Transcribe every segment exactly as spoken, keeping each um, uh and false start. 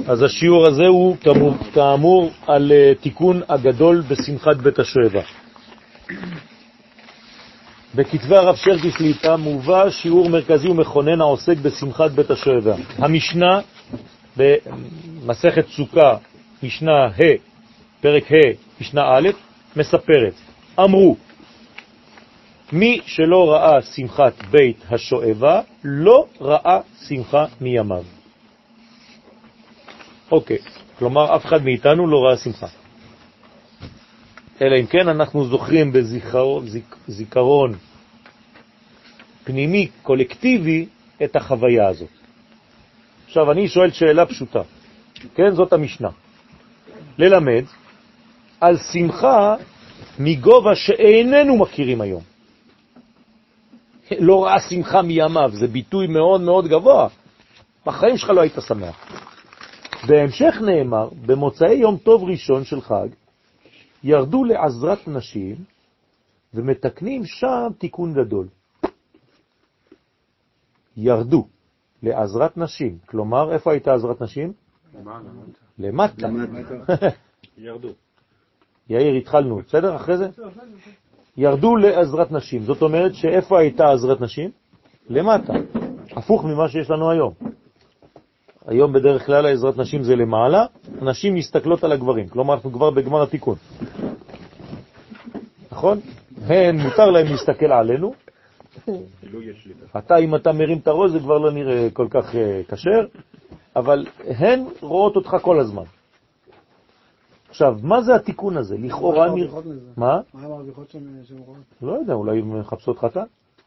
אז השיעור הזה הוא כאמור על תיקון הגדול בשמחת בית השואבה. בכתבי הרב שרקי שליט"א מובא שיעור מרכזי ומכונן העוסק בשמחת בית השואבה. המשנה במסכת סוכה, משנה ה', פרק ה', משנה א', מספרת, אמרו, מי שלא ראה שמחת בית השואבה, לא ראה שמחה מימיו. אוקיי, כלומר אף אחד מאיתנו לא ראה שמחה. אלא אם כן אנחנו זוכרים בזיכרון זיק, זיכרון פנימי קולקטיבי את החוויה הזאת. עכשיו אני שואל שאלה פשוטה, כן, זאת המשנה. ללמד על שמחה מגובה שאיננו מכירים היום. לא ראה שמחה מימיו, זה ביטוי מאוד מאוד גבוה. בחיים שלך לא היית שמח. בהמשך נאמר, במוצאי יום טוב ראשון של חג, ירדו לעזרת נשים ומתקנים שם תיקון גדול. ירדו לעזרת נשים. כלומר, איפה הייתה עזרת נשים? למטה. ירדו. יאיר, התחלנו, בסדר? אחרי זה? ירדו לעזרת נשים. זאת אומרת שאיפה הייתה עזרת נשים? למטה. הפוך ממה שיש לנו היום. היום בדרך כלל העזרת נשים זה למעלה, נשים מסתכלות על הגברים. כלומר, אנחנו כבר בגמר התיקון. נכון? הן מותר להם להסתכל עלינו. אתה, אם אתה מרים את הראש, זה כבר לא נראה כל כך קשר, אבל הן רואות אותך כל הזמן. עכשיו, מה זה התיקון הזה? לכאורה נראה... מה? מה המרוויחות שהן רואות? לא יודע, אולי הן מחפשות חתן?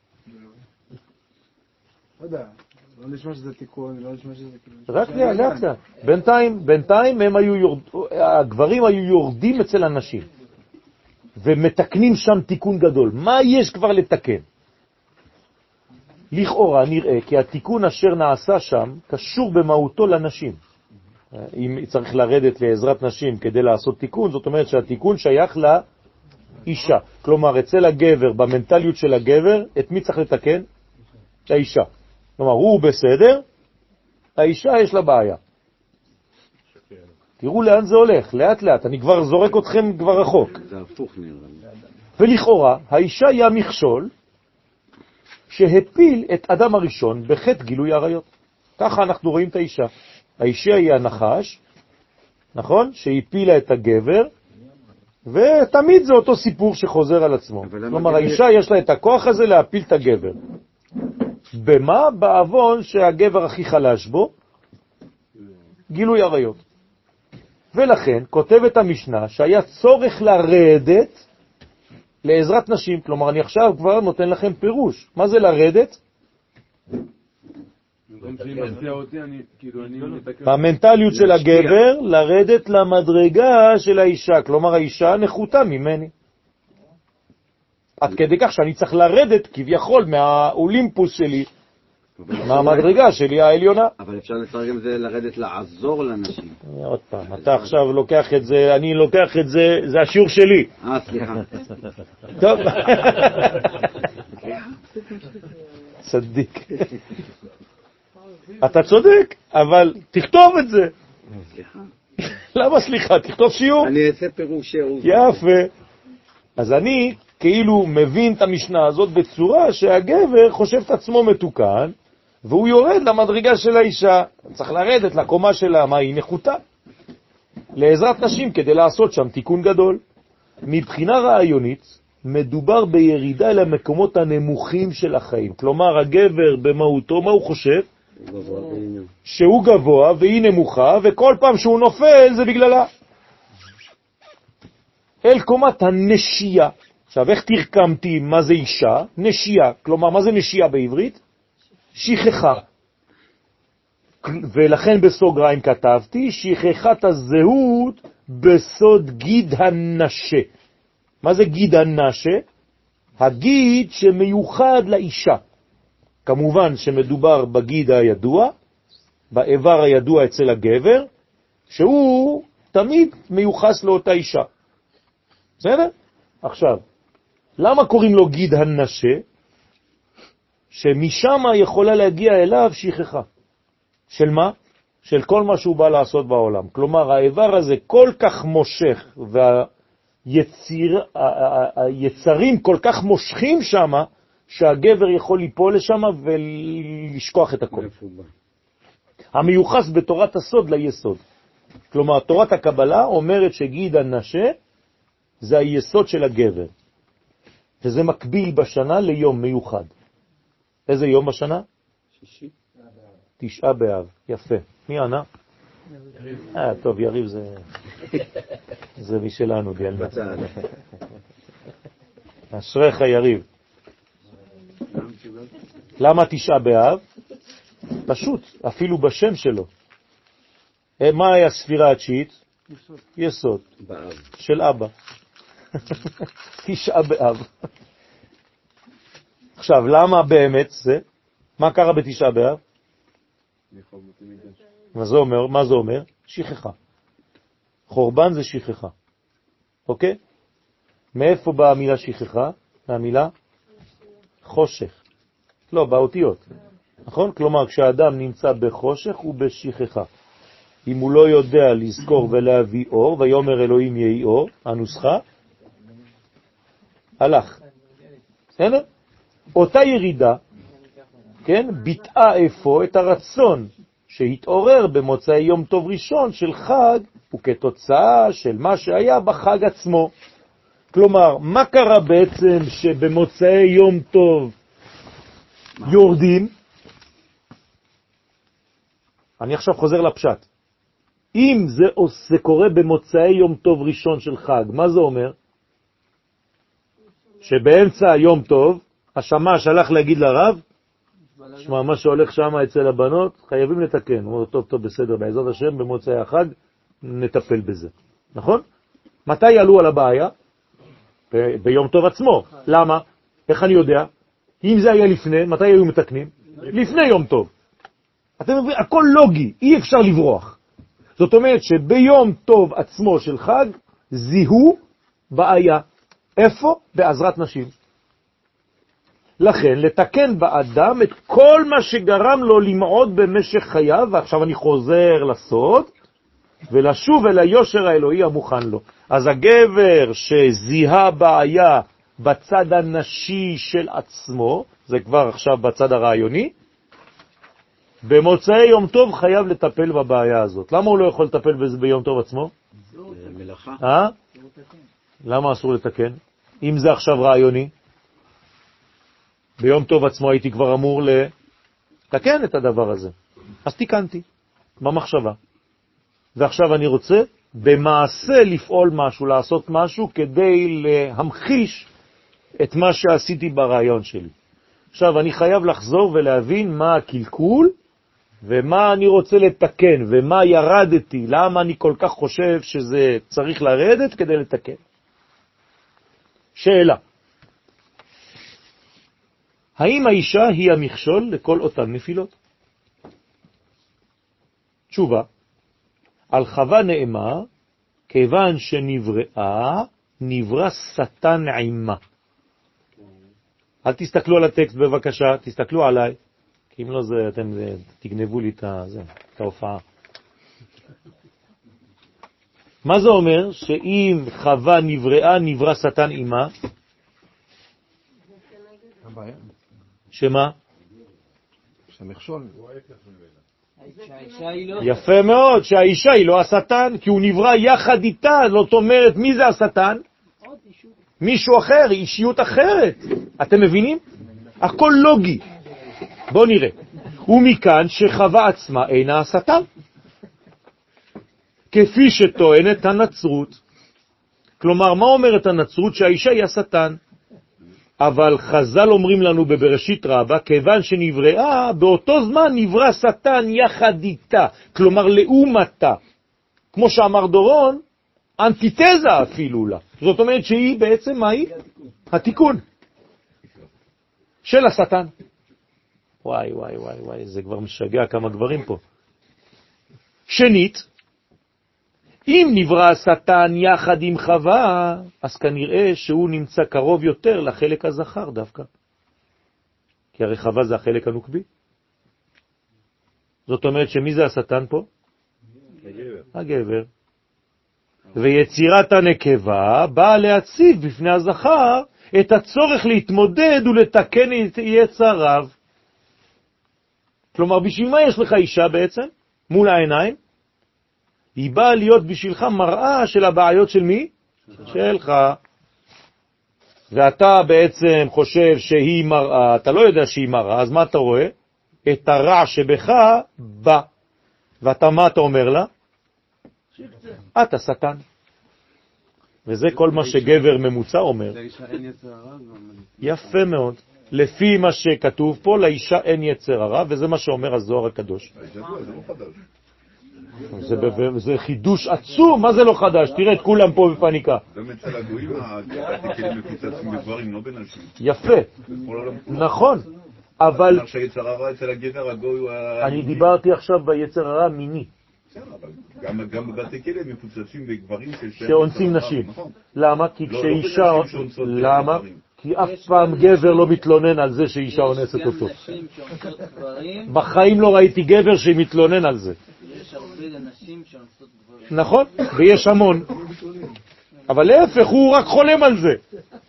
לא יודע, לא נשמע שזה תיקון, לא נשמע שזה... רק לאט לאט. בינתיים, בינתיים הם היו יורד... הגברים היו יורדים אצל הנשים, ומתקנים שם תיקון גדול. מה יש כבר לתקן? לכאורה נראה כי התיקון אשר נעשה שם קשור במהותו לנשים. אם צריך לרדת לעזרת נשים כדי לעשות תיקון, זאת אומרת שהתיקון שייך לאישה. כלומר, אצל הגבר, במנטליות של הגבר, את מי צריך לתקן? האישה. כלומר, הוא בסדר, האישה יש לה בעיה. תראו לאן זה הולך, לאט לאט, אני כבר זורק אתכם כבר רחוק. זה הפוך נראה. ולכאורה, האישה היא המכשול שהפיל את אדם הראשון בחטא גילוי עריות. ככה אנחנו רואים את האישה. האישה היא הנחש, נכון? שהפילה את הגבר, ותמיד זה אותו סיפור שחוזר על עצמו. כלומר, האישה יש לה את הכוח הזה להפיל את הגבר. במה? בעוון שהגבר הכי חלש בו, גילוי עריות. ולכן כותבת המשנה שהיה צורך לרדת לעזרת נשים. כלומר, אני עכשיו כבר נותן לכם פירוש. מה זה לרדת? במנטליות של הגבר, לרדת למדרגה של האישה. כלומר, האישה נחותה ממני. עד כדי כך שאני צריך לרדת כביכול מהאולימפוס שלי, מהמדרגה שלי העליונה. אבל אפשר לתרגם זה לרדת לעזור לנשים. עוד פעם, אתה עכשיו לוקח את זה, אני לוקח את זה, זה השיעור שלי. אה, סליחה. טוב. צדיק. אתה צודק, אבל תכתוב את זה. סליחה. למה סליחה? תכתוב שיעור. אני אעשה פירוש שיעור. יפה. אז אני כאילו מבין את המשנה הזאת בצורה שהגבר חושב את עצמו מתוקן, והוא יורד למדרגה של האישה. צריך לרדת לקומה שלה, מה היא נחותה? לעזרת נשים כדי לעשות שם תיקון גדול. מבחינה רעיונית, מדובר בירידה אל המקומות הנמוכים של החיים. כלומר, הגבר במהותו, מה הוא חושב? שהוא גבוה והיא נמוכה, וכל פעם שהוא נופל זה בגללה. אל קומת הנשייה. עכשיו, איך תרקמתי מה זה אישה? נשייה. כלומר, מה זה נשייה בעברית? שכחה. ולכן בסוגריים כתבתי, שכחת הזהות בסוד גיד הנשה. מה זה גיד הנשה? הגיד שמיוחד לאישה. כמובן שמדובר בגיד הידוע, באיבר הידוע אצל הגבר, שהוא תמיד מיוחס לאותה אישה. בסדר? עכשיו, למה קוראים לו גיד הנשה? שמשם יכולה להגיע אליו שכחה. של מה? של כל מה שהוא בא לעשות בעולם. כלומר, האיבר הזה כל כך מושך, והיצרים כל כך מושכים שם, שהגבר יכול ליפול לשם ולשכוח את הכל. המיוחס בתורת הסוד ליסוד. כלומר, תורת הקבלה אומרת שגיד הנשה זה היסוד של הגבר. וזה מקביל בשנה ליום מיוחד. איזה יום בשנה? שישי. תשעה באב. יפה. מי ענה? אה, טוב, יריב זה... זה משלנו, דיאלנה. אשריך יריב. למה תשעה באב? פשוט, אפילו בשם שלו. מה היה הספירה התשיעית? יסוד. יסוד. באב. של אבא. תשעה באב. עכשיו, למה באמת זה? מה קרה בתשעה באב? מה זה אומר? מה זה אומר? שכחה. חורבן זה שכחה. אוקיי? מאיפה באה המילה שכחה? מהמילה חושך. לא, באותיות. נכון? כלומר, כשאדם נמצא בחושך הוא בשכחה. אם הוא לא יודע לזכור ולהביא אור, ויאמר אלוהים יהי אור, הנוסחה, הלך. בסדר? אותה ירידה, כן, ביטאה איפה את הרצון שהתעורר במוצאי יום טוב ראשון של חג, וכתוצאה של מה שהיה בחג עצמו. כלומר, מה קרה בעצם שבמוצאי יום טוב יורדים? אני עכשיו חוזר לפשט. אם זה, זה קורה במוצאי יום טוב ראשון של חג, מה זה אומר? שבאמצע יום טוב, השמש הלך להגיד לרב, שמע, מה שהולך שם אצל הבנות, חייבים לתקן. הוא אומר, טוב, טוב, בסדר, בעזרת השם, במוצאי החג, נטפל בזה. נכון? מתי עלו על הבעיה? ב- ביום טוב עצמו. למה? איך אני יודע? אם זה היה לפני, מתי היו מתקנים? לפני יום טוב. אתם מבינים, הכל לוגי, אי אפשר לברוח. זאת אומרת שביום טוב עצמו של חג, זיהו בעיה. איפה? בעזרת נשים. לכן, לתקן באדם את כל מה שגרם לו למעוד במשך חייו, ועכשיו אני חוזר לסוד, ולשוב אל היושר האלוהי המוכן לו. אז הגבר שזיהה בעיה בצד הנשי של עצמו, זה כבר עכשיו בצד הרעיוני, במוצאי יום טוב חייב לטפל בבעיה הזאת. למה הוא לא יכול לטפל בזה ביום טוב עצמו? מלאכה. אה? למה אסור לתקן? אם זה עכשיו רעיוני, ביום טוב עצמו הייתי כבר אמור לתקן את הדבר הזה. אז תיקנתי, במחשבה. ועכשיו אני רוצה במעשה לפעול משהו, לעשות משהו כדי להמחיש את מה שעשיתי ברעיון שלי. עכשיו אני חייב לחזור ולהבין מה הקלקול ומה אני רוצה לתקן ומה ירדתי, למה אני כל כך חושב שזה צריך לרדת כדי לתקן. שאלה. האם האישה היא המכשול לכל אותן נפילות? תשובה. על חווה נאמר, כיוון שנבראה, נברא שטן עימה. אל תסתכלו על הטקסט בבקשה, תסתכלו עליי, כי אם לא זה, אתם זה, תגנבו לי את, זה, את ההופעה. מה זה אומר? שאם חווה נבראה, נברא שטן עימה? שמה? שהמכשול. יפה מאוד, שהאישה היא לא השטן, כי הוא נברא יחד איתה. זאת אומרת, מי זה השטן? מישהו אחר, אישיות אחרת. אתם מבינים? הכל לוגי. בואו נראה. ומכאן שחווה עצמה אינה השטן. כפי שטוענת הנצרות. כלומר, מה אומרת הנצרות? שהאישה היא השטן. אבל חז"ל אומרים לנו בבראשית רבה, כיוון שנבראה, באותו זמן נברא שטן יחד איתה, כלומר לעומתה. כמו שאמר דורון, אנטיתזה אפילו לה. זאת אומרת שהיא בעצם מה היא? התיקון של השטן. וואי וואי וואי וואי, זה כבר משגע כמה גברים פה. שנית, אם נברא השטן יחד עם חווה, אז כנראה שהוא נמצא קרוב יותר לחלק הזכר דווקא. כי הרי חווה זה החלק הנוקבי. זאת אומרת שמי זה השטן פה? הגבר. ויצירת הנקבה באה להציב בפני הזכר את הצורך להתמודד ולתקן את יצריו. כלומר, בשביל מה יש לך אישה בעצם? מול העיניים? היא באה להיות בשבילך מראה של הבעיות של מי? שלך. ואתה בעצם חושב שהיא מראה, אתה לא יודע שהיא מראה, אז מה אתה רואה? את הרע שבך בא. ואתה מה אתה אומר לה? אתה שטן. וזה כל מה שגבר ממוצע אומר. יפה מאוד. לפי מה שכתוב פה, לאישה אין יצר הרע, וזה מה שאומר הזוהר הקדוש. זה, זה חידוש עצום, מה זה לא חדש? תראה את כולם פה בפניקה. גם אצל הגויים, הכלים מפוצצים בגברים, לא בנשים. יפה, נכון, אבל... שהיצר הרע אצל הגבר הגוי הוא... אני דיברתי עכשיו ביצר הרע מיני. גם בבתי כלא מפוצצים בגברים שאונסים נשים. למה? כי כשאישה... למה? כי אף פעם גבר לא מתלונן על זה שאישה אונסת אותו. בחיים לא ראיתי גבר שמתלונן על זה. יש הרבה נשים שאונסות גברים. נכון, ויש המון. אבל להפך, הוא רק חולם על זה.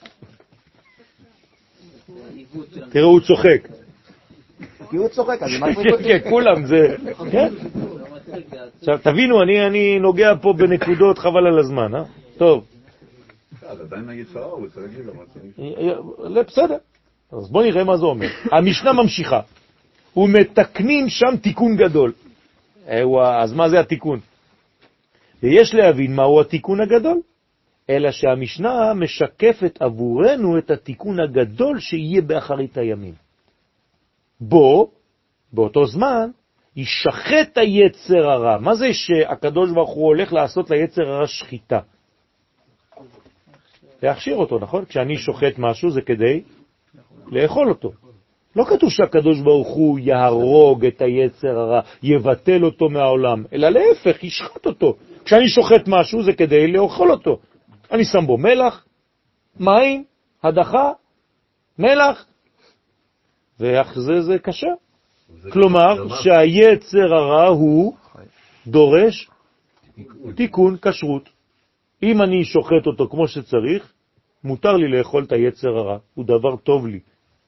תראו, הוא צוחק. כי הוא צוחק, אז מה הוא כן, כולם זה... כן? עכשיו, תבינו, אני נוגע פה בנקודות חבל על הזמן, אה? טוב. אז עדיין היצרה הוא אצל הגבר. לא, בסדר. אז בוא נראה מה זה אומר. המשנה ממשיכה. ומתקנים שם תיקון גדול. אז מה זה התיקון? ויש להבין מהו התיקון הגדול, אלא שהמשנה משקפת עבורנו את התיקון הגדול שיהיה באחרית הימים. בו, באותו זמן, ישחט היצר הרע. מה זה שהקדוש ברוך הוא הולך לעשות ליצר הרע שחיטה? להכשיר אותו, נכון? כשאני שוחט משהו זה כדי לאכול אותו. לא כתוב שהקדוש ברוך הוא יהרוג את היצר הרע, יבטל אותו מהעולם, אלא להפך, ישחט אותו. כשאני שוחט משהו זה כדי לאכול אותו. אני שם בו מלח, מים, הדחה, מלח, ואיך זה זה קשה. כלומר שהיצר הרע הוא דורש תיקון כשרות. אם אני שוחט אותו כמו שצריך, מותר לי לאכול את היצר הרע, הוא דבר טוב לי.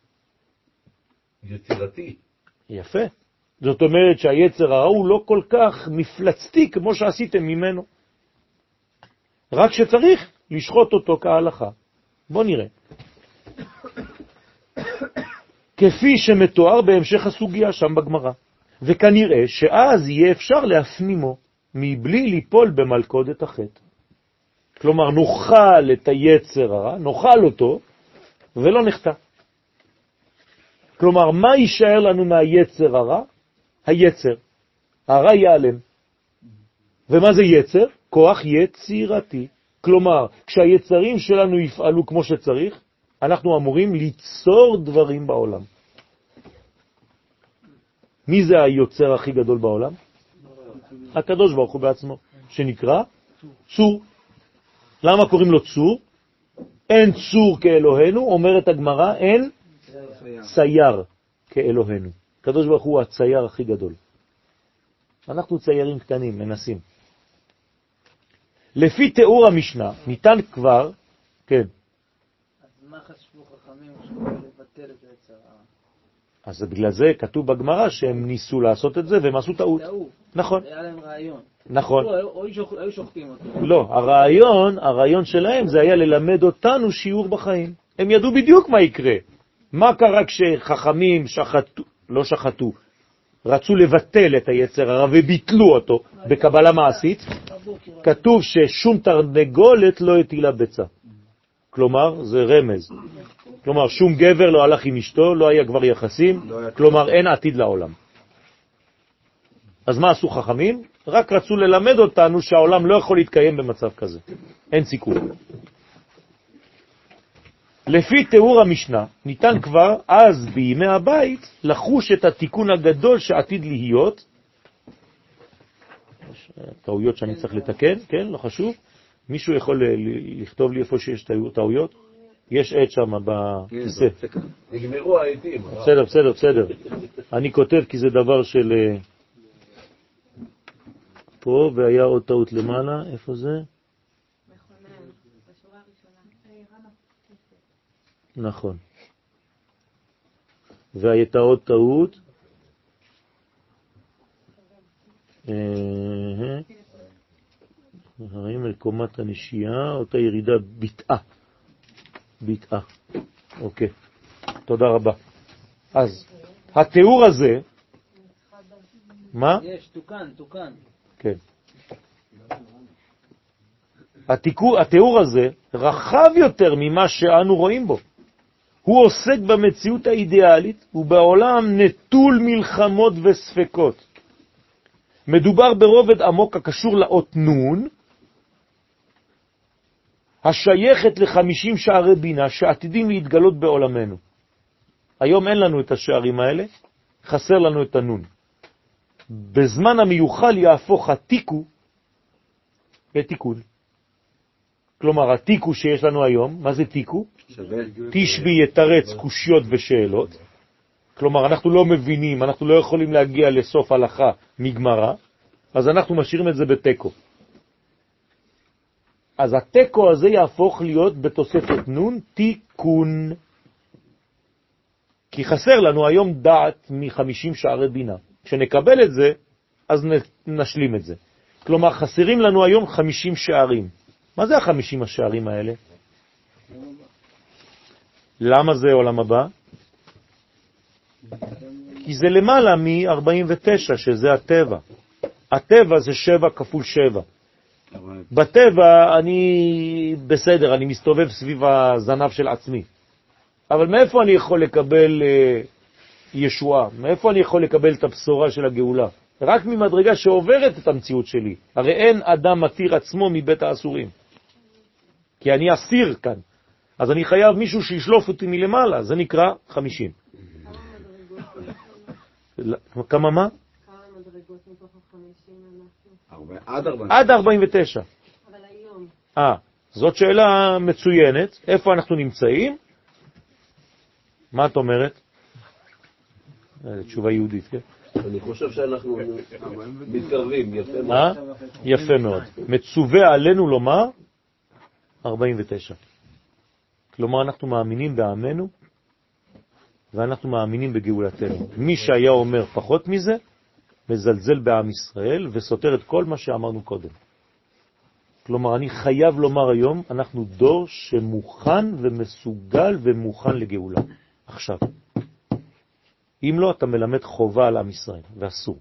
יצירתי. יפה. זאת אומרת שהיצר הרע הוא לא כל כך מפלצתי כמו שעשיתם ממנו. רק שצריך לשחוט אותו כהלכה. בוא נראה. כפי שמתואר בהמשך הסוגיה שם בגמרא. וכנראה שאז יהיה אפשר להפנימו מבלי ליפול במלכודת החטא. כלומר, נאכל את היצר הרע, נאכל אותו, ולא נחטא. כלומר, מה יישאר לנו מהיצר הרע? היצר. הרע ייעלם. ומה זה יצר? כוח יצירתי. כלומר, כשהיצרים שלנו יפעלו כמו שצריך, אנחנו אמורים ליצור דברים בעולם. מי זה היוצר הכי גדול בעולם? הקדוש ברוך הוא בעצמו, שנקרא צור. למה קוראים לו צור? אין צור כאלוהינו, אומרת הגמרא, אין צייר כאלוהינו. הקדוש ברוך הוא הצייר הכי גדול. אנחנו ציירים קטנים, מנסים. לפי תיאור המשנה, ניתן כבר, כן. אז מה חשבו חכמים לבטל את היצר הרע? אז בגלל זה כתוב בגמרא שהם ניסו לעשות את זה והם עשו טעות. נכון. היה להם רעיון. נכון. או היו שוחטים אותו. לא, הרעיון, הרעיון שלהם זה היה ללמד אותנו שיעור בחיים. הם ידעו בדיוק מה יקרה. מה קרה כשחכמים שחטו, לא שחטו, רצו לבטל את היצר הרע וביטלו אותו בקבלה מעשית? כתוב ששום תרנגולת לא הטילה ביצה. כלומר, זה רמז. כלומר, שום גבר לא הלך עם אשתו, לא היה כבר יחסים, כלומר, אין עתיד לעולם. אז מה עשו חכמים? רק רצו ללמד אותנו שהעולם לא יכול להתקיים במצב כזה. אין סיכוי. לפי תיאור המשנה, ניתן כבר אז בימי הבית לחוש את התיקון הגדול שעתיד להיות. טעויות שאני צריך לתקן, כן? לא חשוב. מישהו יכול לכתוב לי איפה שיש טעויות? יש עט שם בכיסא. נגמרו העטים. בסדר, בסדר, בסדר. אני כותב כי זה דבר של... פה, והיה עוד טעות למעלה, איפה זה? מכונן, בשורה הראשונה. נכון. והייתה עוד טעות. הרים אל קומת הנשייה, אותה ירידה ביטאה. ביטאה. אוקיי. תודה רבה. אז התיאור הזה, מה? יש, תוקן, תוקן. כן. התיקור, התיאור הזה רחב יותר ממה שאנו רואים בו. הוא עוסק במציאות האידיאלית ובעולם נטול מלחמות וספקות. מדובר ברובד עמוק הקשור לאות נון, השייכת לחמישים שערי בינה שעתידים להתגלות בעולמנו. היום אין לנו את השערים האלה, חסר לנו את הנון. בזמן המיוחל יהפוך התיקו לתיקון. כלומר, התיקו שיש לנו היום, מה זה תיקו? תשבי יתרץ קושיות ושאלות. כלומר, אנחנו לא מבינים, אנחנו לא יכולים להגיע לסוף הלכה מגמרה, אז אנחנו משאירים את זה בטקו. אז הטקו הזה יהפוך להיות בתוספת נון תיקון. כי חסר לנו היום דעת מ-חמישים שערי בינה. כשנקבל את זה, אז נשלים את זה. כלומר, חסרים לנו היום חמישים שערים. מה זה ה-חמישים השערים האלה? למה זה עולם הבא? כי זה למעלה מ-ארבעים ותשע, שזה הטבע. הטבע זה שבע כפול שבע. בטבע אני בסדר, אני מסתובב סביב הזנב של עצמי. אבל מאיפה אני יכול לקבל uh, ישועה? מאיפה אני יכול לקבל את הבשורה של הגאולה? רק ממדרגה שעוברת את המציאות שלי. הרי אין אדם מתיר עצמו מבית האסורים. כי אני אסיר כאן. אז אני חייב מישהו שישלוף אותי מלמעלה. זה נקרא חמישים. כמה מה? כמה מדרגות מתוך החמישים אנחנו? עד ארבעים ותשע. אבל היום. אה, זאת שאלה מצוינת. איפה אנחנו נמצאים? מה את אומרת? תשובה יהודית, כן? אני חושב שאנחנו מתקרבים, יפה מאוד. אה? יפה מאוד. מצווה עלינו לומר ארבעים ותשע. כלומר, אנחנו מאמינים בעמנו, ואנחנו מאמינים בגאולתנו. מי שהיה אומר פחות מזה, מזלזל בעם ישראל, וסותר את כל מה שאמרנו קודם. כלומר, אני חייב לומר היום, אנחנו דור שמוכן ומסוגל ומוכן לגאולה. עכשיו. אם לא, אתה מלמד חובה על עם ישראל, ואסור.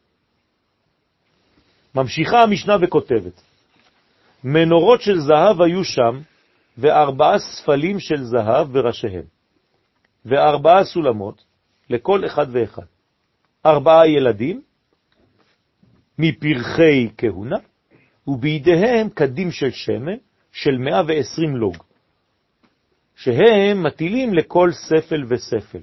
ממשיכה המשנה וכותבת, מנורות של זהב היו שם, וארבעה ספלים של זהב בראשיהם, וארבעה סולמות לכל אחד ואחד. ארבעה ילדים, מפרחי כהונה, ובידיהם קדים של שמן, של מאה ועשרים לוג, שהם מטילים לכל ספל וספל.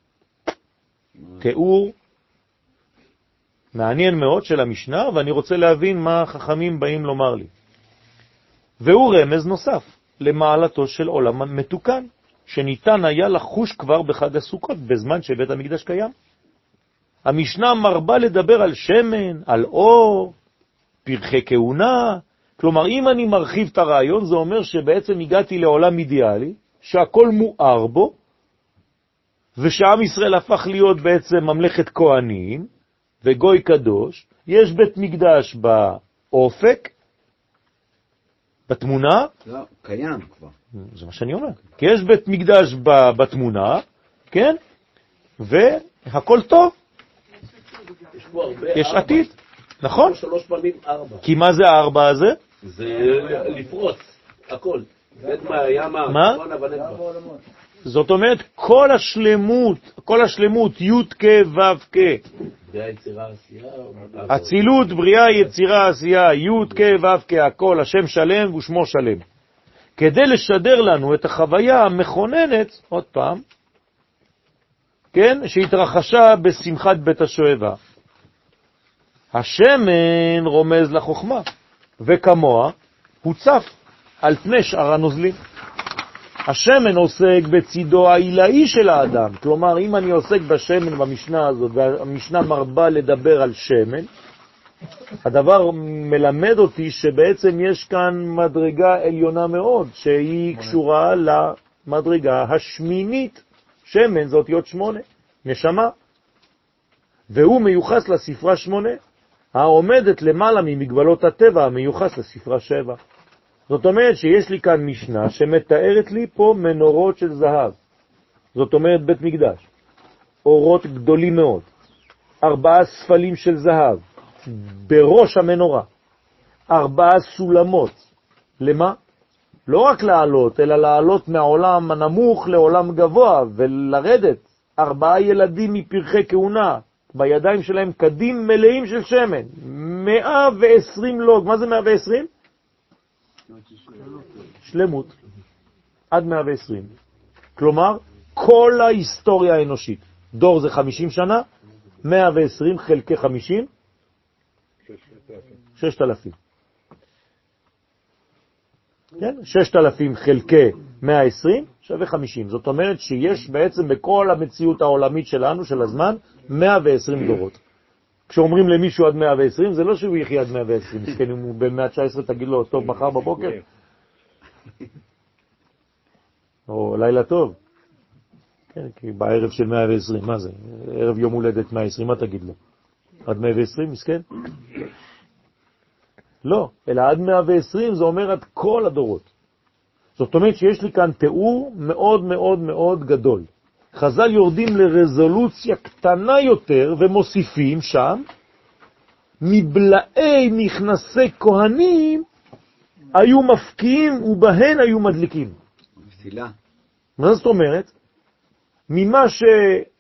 תיאור מעניין מאוד של המשנה, ואני רוצה להבין מה החכמים באים לומר לי. והוא רמז נוסף למעלתו של עולם מתוקן, שניתן היה לחוש כבר בחג הסוכות, בזמן שבית המקדש קיים. המשנה מרבה לדבר על שמן, על אור, פרחי כהונה. כלומר, אם אני מרחיב את הרעיון, זה אומר שבעצם הגעתי לעולם אידיאלי, שהכל מואר בו, ושעם ישראל הפך להיות בעצם ממלכת כהנים, וגוי קדוש. יש בית מקדש באופק, בתמונה. לא, קיים כבר. זה מה שאני אומר. כי יש בית מקדש בתמונה, כן? והכל טוב. יש פה הרבה יש ארבע. עתיד. נכון? שלוש פעמים ארבע. כי מה זה הארבע הזה? זה לפרוץ, הכל. נדמה, ימה, מה? צפונה ונדמה. זאת אומרת, כל השלמות, כל השלמות, י' כ' ו' כ', בריאה, יצירה, עשייה. אצילות, בריאה, יצירה, עשייה, י' כ' ו' כ', הכל, השם שלם ושמו שלם. כדי לשדר לנו את החוויה המכוננת, עוד פעם, כן, שהתרחשה בשמחת בית השואבה. השמן רומז לחוכמה, וכמוה הוא צף על פני שאר הנוזלים. השמן עוסק בצידו העילאי של האדם. כלומר, אם אני עוסק בשמן במשנה הזאת, והמשנה מרבה לדבר על שמן, הדבר מלמד אותי שבעצם יש כאן מדרגה עליונה מאוד, שהיא קשורה למדרגה השמינית. שמן זאת אותיות שמונה, נשמה. והוא מיוחס לספרה שמונה, העומדת למעלה ממגבלות הטבע המיוחס לספרה שבע. זאת אומרת שיש לי כאן משנה שמתארת לי פה מנורות של זהב. זאת אומרת בית מקדש. אורות גדולים מאוד. ארבעה ספלים של זהב. בראש המנורה. ארבעה סולמות. למה? לא רק לעלות, אלא לעלות מהעולם הנמוך לעולם גבוה ולרדת. ארבעה ילדים מפרחי כהונה. בידיים שלהם קדים מלאים של שמן. מאה ועשרים לוג. מה זה מאה ועשרים? שלמות. עד מאה ועשרים. כלומר, כל ההיסטוריה האנושית. דור זה חמישים שנה, מאה ועשרים חלקי חמישים, ששת אלפים. כן? ששת אלפים חלקי מאה ועשרים שווה חמישים. זאת אומרת שיש בעצם בכל המציאות העולמית שלנו, של הזמן, מאה ועשרים דורות. כשאומרים למישהו עד מאה ועשרים, זה לא שהוא יחיה עד מאה ועשרים. מסכן, אם הוא ב-מאה ותשע עשרה תגיד לו, טוב, מחר בבוקר. או לילה טוב. כן, כי בערב של מאה ועשרים, מה זה? ערב יום הולדת מאה ועשרים, מה תגיד לו? עד מאה ועשרים, מסכן? לא, אלא עד מאה ועשרים זה אומר עד כל הדורות. זאת אומרת שיש לי כאן תיאור מאוד מאוד מאוד גדול. חז"ל יורדים לרזולוציה קטנה יותר ומוסיפים שם, מבלעי מכנסי כהנים היו מפקיעים ובהן היו מדליקים. פסילה. מה זאת אומרת? ממה ש...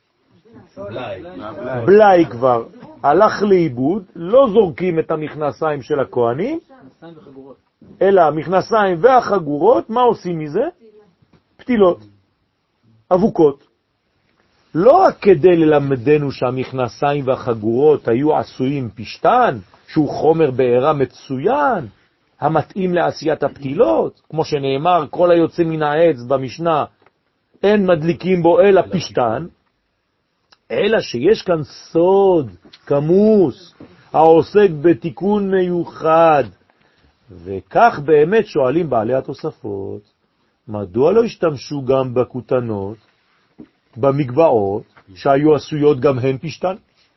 בלעי כבר הלך לאיבוד, לא זורקים את המכנסיים של הכהנים, אלא המכנסיים והחגורות, מה עושים מזה? פתילות, אבוקות. לא רק כדי ללמדנו שהמכנסיים והחגורות היו עשויים פשטן, שהוא חומר בעירה מצוין, המתאים לעשיית הפתילות, כמו שנאמר, כל היוצא מן העץ במשנה, אין מדליקים בו אלא פשטן, אלא שיש כאן סוד, כמוס, העוסק בתיקון מיוחד. וכך באמת שואלים בעלי התוספות, מדוע לא השתמשו גם בכותנות, במגבעות, שהיו עשויות גם הן פשטן?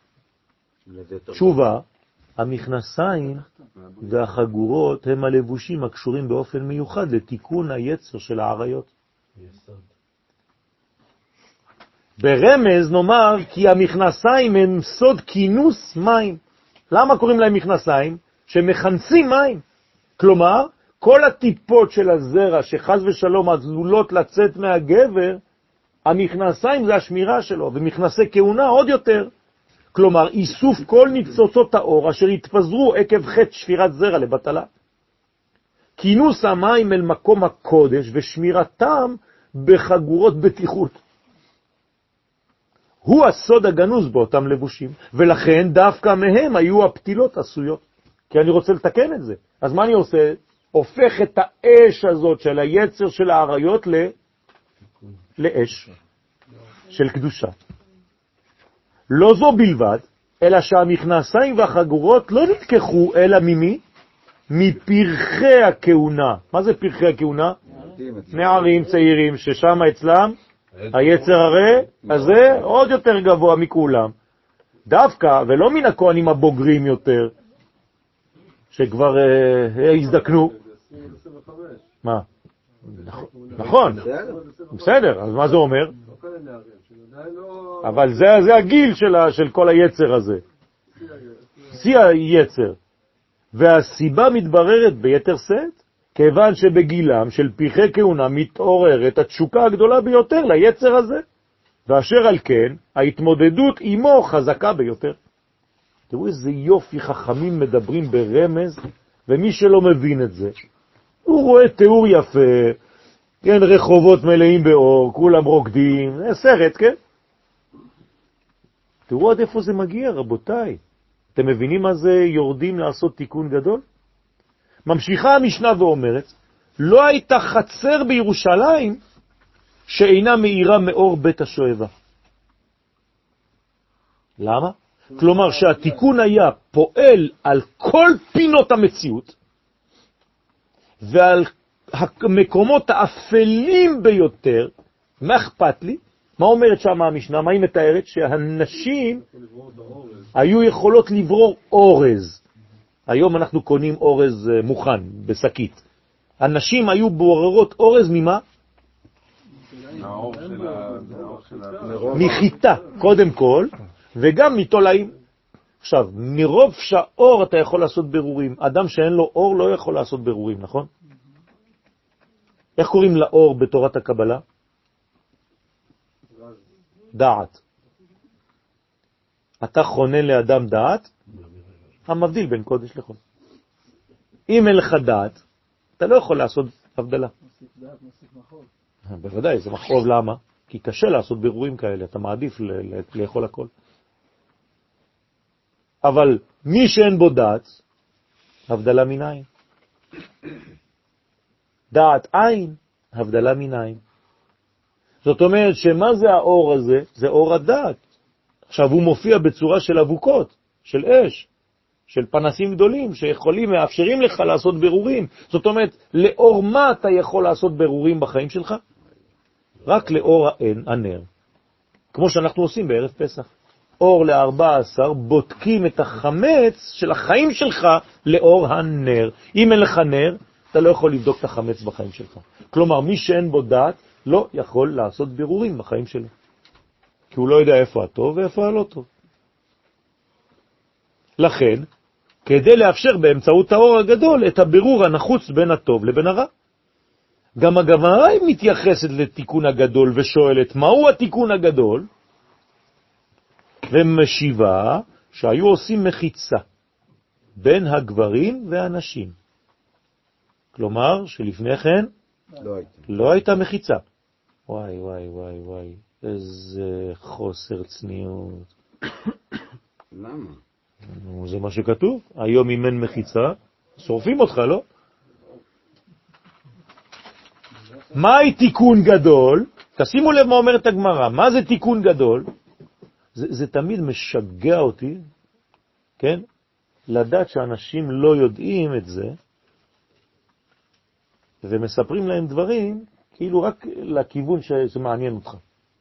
תשובה, המכנסיים והחגורות הם הלבושים הקשורים באופן מיוחד לתיקון היצר של העריות. ברמז נאמר כי המכנסיים הם סוד כינוס מים. למה קוראים להם מכנסיים? שמכנסים מים. כלומר, כל הטיפות של הזרע שחז ושלום עלולות לצאת מהגבר, המכנסיים זה השמירה שלו, ומכנסי כהונה עוד יותר. כלומר, איסוף כל ניצוצות האור אשר התפזרו עקב חטא שפירת זרע לבטלה. כינוס המים אל מקום הקודש ושמירתם בחגורות בטיחות. הוא הסוד הגנוז באותם לבושים, ולכן דווקא מהם היו הפתילות עשויות. כי אני רוצה לתקן את זה. אז מה אני עושה? הופך את האש הזאת של היצר של העריות ל... לאש של קדושה. לא זו בלבד, אלא שהמכנסיים והחגורות לא נתקחו אלא ממי? מפרחי הכהונה. מה זה פרחי הכהונה? נערים צעירים ששם אצלם היצר הרי הזה עוד יותר גבוה מכולם. דווקא, ולא מן הכהנים הבוגרים יותר, שכבר אה, הזדקנו. מה? נכון. בסדר, אז מה זה אומר? אבל זה, זה הגיל של, של כל היצר הזה. שיא היצר. והסיבה מתבררת ביתר שאת, כיוון שבגילם של פרחי כהונה מתעוררת התשוקה הגדולה ביותר ליצר הזה, ואשר על כן ההתמודדות עמו חזקה ביותר. תראו איזה יופי חכמים מדברים ברמז, ומי שלא מבין את זה, הוא רואה תיאור יפה, כן, רחובות מלאים באור, כולם רוקדים, זה סרט, כן? תראו עד איפה זה מגיע, רבותיי. אתם מבינים מה זה יורדים לעשות תיקון גדול? ממשיכה המשנה ואומרת, לא הייתה חצר בירושלים שאינה מאירה מאור בית השואבה. למה? כלומר שהתיקון היה פועל על כל פינות המציאות, ועל המקומות האפלים ביותר. מה אכפת לי? מה אומרת שם המשנה? מה היא מתארת? שהנשים היו יכולות לברור אורז. היום אנחנו קונים אורז מוכן, בסקית. הנשים היו בוררות אורז ממה? מחיטה, קודם כל, וגם מתולעים. עכשיו, מרוב שהאור אתה יכול לעשות ברורים. אדם שאין לו אור לא יכול לעשות ברורים, נכון? איך קוראים לאור בתורת הקבלה? דעת. אתה חונן לאדם דעת, המבדיל בין קודש לחול. אם אין לך דעת, אתה לא יכול לעשות הבדלה. בוודאי, זה מחרוב. למה? כי קשה לעשות בירורים כאלה, אתה מעדיף לאכול הכל. אבל מי שאין בו דעת, הבדלה מן עין. דעת עין, הבדלה מן עין. זאת אומרת שמה זה האור הזה? זה אור הדעת. עכשיו הוא מופיע בצורה של אבוקות, של אש, של פנסים גדולים שיכולים, מאפשרים לך לעשות ברורים. זאת אומרת, לאור מה אתה יכול לעשות ברורים בחיים שלך? רק לאור הנר. כמו שאנחנו עושים בערב פסח. אור ל-ארבע עשרה, בודקים את החמץ של החיים שלך לאור הנר. אם אין לך נר, אתה לא יכול לבדוק את החמץ בחיים שלך. כלומר, מי שאין בו דעת, לא יכול לעשות בירורים בחיים שלו. כי הוא לא יודע איפה הטוב ואיפה הלא טוב. לכן, כדי לאפשר באמצעות האור הגדול את הבירור הנחוץ בין הטוב לבין הרע. גם הגמרא מתייחסת לתיקון הגדול ושואלת, מהו התיקון הגדול? ומשיבה שהיו עושים מחיצה בין הגברים והנשים. כלומר, שלפני כן לא הייתה. לא הייתה מחיצה. וואי, וואי, וואי, וואי, איזה חוסר צניעות. למה? זה מה שכתוב. היום אם אין מחיצה, שורפים אותך, לא? מהי תיקון גדול? תשימו לב מה אומרת הגמרא. מה זה תיקון גדול? זה, זה תמיד משגע אותי, כן? לדעת שאנשים לא יודעים את זה, ומספרים להם דברים כאילו רק לכיוון שזה מעניין אותך.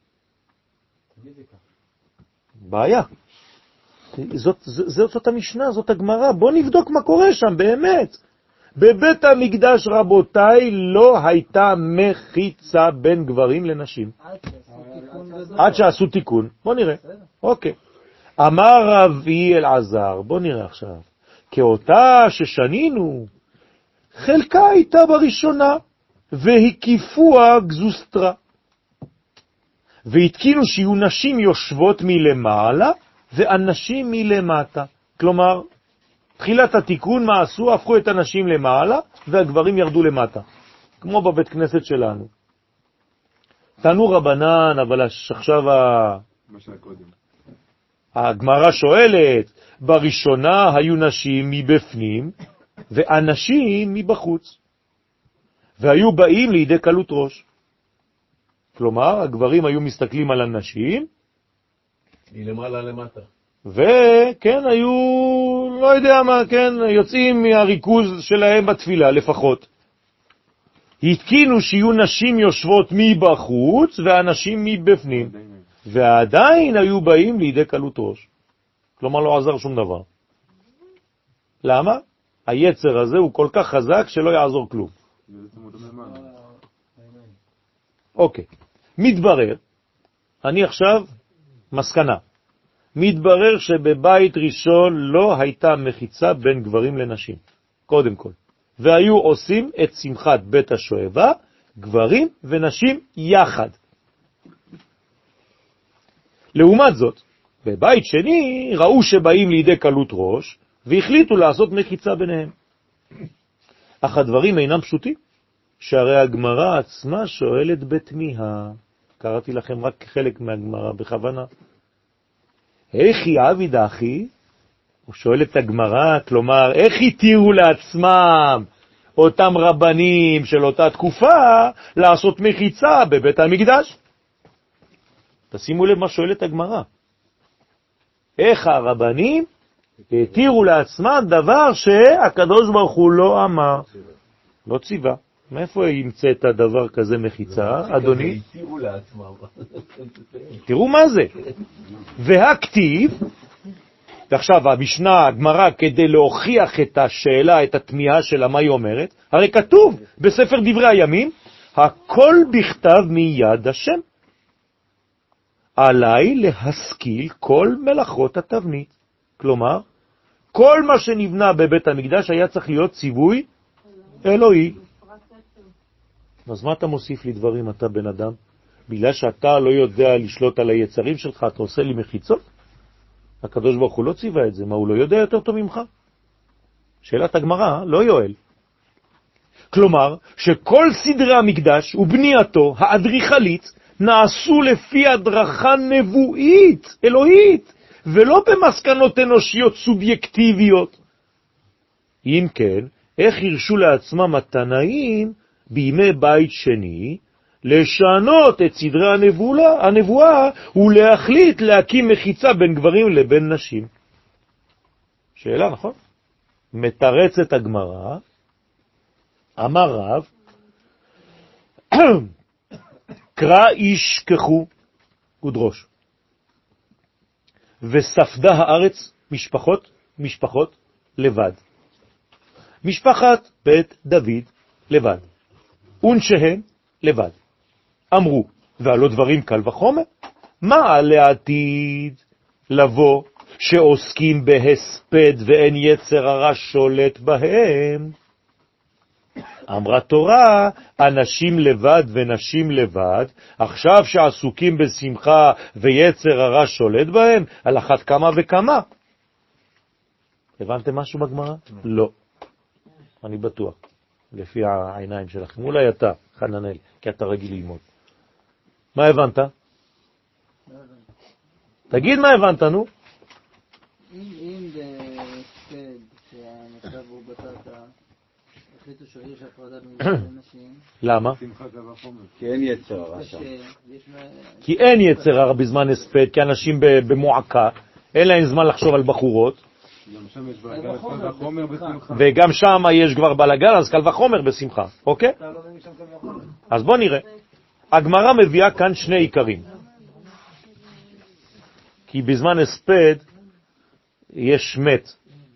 בעיה. זאת, זאת, זאת המשנה, זאת הגמרא. בוא נבדוק מה קורה שם, באמת. בבית המקדש, רבותיי, לא הייתה מחיצה בין גברים לנשים. עד שעשו תיקון. בוא נראה. אוקיי. אמר רבי אלעזר, בוא נראה עכשיו. כאותה ששנינו, חלקה הייתה בראשונה, והקיפוה גזוסטרה. והתקינו שיהיו נשים יושבות מלמעלה, ואנשים מלמטה. כלומר, תחילת התיקון, מה עשו? הפכו את הנשים למעלה, והגברים ירדו למטה. כמו בבית כנסת שלנו. תנו רבנן, אבל עכשיו ה... הגמרא שואלת, בראשונה היו נשים מבפנים, ואנשים מבחוץ. והיו באים לידי קלות ראש. כלומר, הגברים היו מסתכלים על הנשים, מלמעלה למטה. וכן, היו, לא יודע מה, כן, יוצאים מהריכוז שלהם בתפילה לפחות. התקינו שיהיו נשים יושבות מבחוץ ואנשים מבפנים, ועדיין היו באים לידי קלות ראש. כלומר, לא עזר שום דבר. למה? היצר הזה הוא כל כך חזק שלא יעזור כלום. אוקיי. מתברר, אני עכשיו מסקנה. מתברר שבבית ראשון לא הייתה מחיצה בין גברים לנשים, קודם כל. והיו עושים את שמחת בית השואבה, גברים ונשים יחד. לעומת זאת, בבית שני ראו שבאים לידי קלות ראש, והחליטו לעשות מחיצה ביניהם. אך הדברים אינם פשוטים, שהרי הגמרא עצמה שואלת בתמיהה. קראתי לכם רק חלק מהגמרא בכוונה. איך עביד אחי? הוא שואל את הגמרא, כלומר, איך התירו לעצמם אותם רבנים של אותה תקופה לעשות מחיצה בבית המקדש? תשימו לב מה שואלת הגמרא. איך הרבנים התירו לעצמם דבר שהקדוש ברוך הוא לא אמר, לא ציווה. מאיפה ימצא את הדבר כזה מחיצה, אדוני? התירו לעצמם. תראו מה זה. והכתיב, ועכשיו המשנה, הגמרא, כדי להוכיח את השאלה, את התמיהה שלה, מה היא אומרת, הרי כתוב בספר דברי הימים, הכל בכתב מיד השם. עליי להשכיל כל מלאכות התבנית. כלומר, כל מה שנבנה בבית המקדש היה צריך להיות ציווי אלוהי. אז מה אתה מוסיף לי דברים, אתה בן אדם? בגלל שאתה לא יודע לשלוט על היצרים שלך, אתה עושה לי מחיצות? הקדוש ברוך הוא לא ציווה את זה, מה הוא לא יודע יותר טוב ממך? שאלת הגמרא, לא יואל. כלומר, שכל סדרי המקדש ובנייתו האדריכלית נעשו לפי הדרכה נבואית, אלוהית, ולא במסקנות אנושיות סובייקטיביות. אם כן, איך הרשו לעצמם התנאים בימי בית שני לשנות את סדרי הנבואה, הנבואה ולהחליט להקים מחיצה בין גברים לבין נשים? שאלה, נכון? מתרצת הגמרא, אמר רב, קרא איש כחו ודרוש, וספדה הארץ משפחות, משפחות לבד. משפחת בית דוד לבד, ונשהן לבד. אמרו, ועלו דברים קל וחומר, מה לעתיד לבוא שעוסקים בהספד ואין יצר הרע שולט בהם? אמרה תורה, אנשים לבד ונשים לבד, עכשיו שעסוקים בשמחה ויצר הרע שולט בהם, על אחת כמה וכמה. הבנתם משהו בגמרא? לא. אני בטוח, לפי העיניים שלכם. אולי אתה, חננאל, כי אתה רגיל ללמוד. מה הבנת? תגיד מה הבנת, נו. אם בספד שהמצב הוא בטטה, החליטו שיש הפרדה בין נשים. למה? כי אין יצר הרע שם. כי אין יצר הרע בזמן הספד, כי אנשים במועקה, אין להם זמן לחשוב על בחורות. גם שם יש בלגן, קל וחומר בשמחה. וגם שם יש כבר בלגן, אז קל וחומר בשמחה, אוקיי? אז בוא נראה. הגמרא מביאה כאן שני עיקרים. כי בזמן הספד יש מת.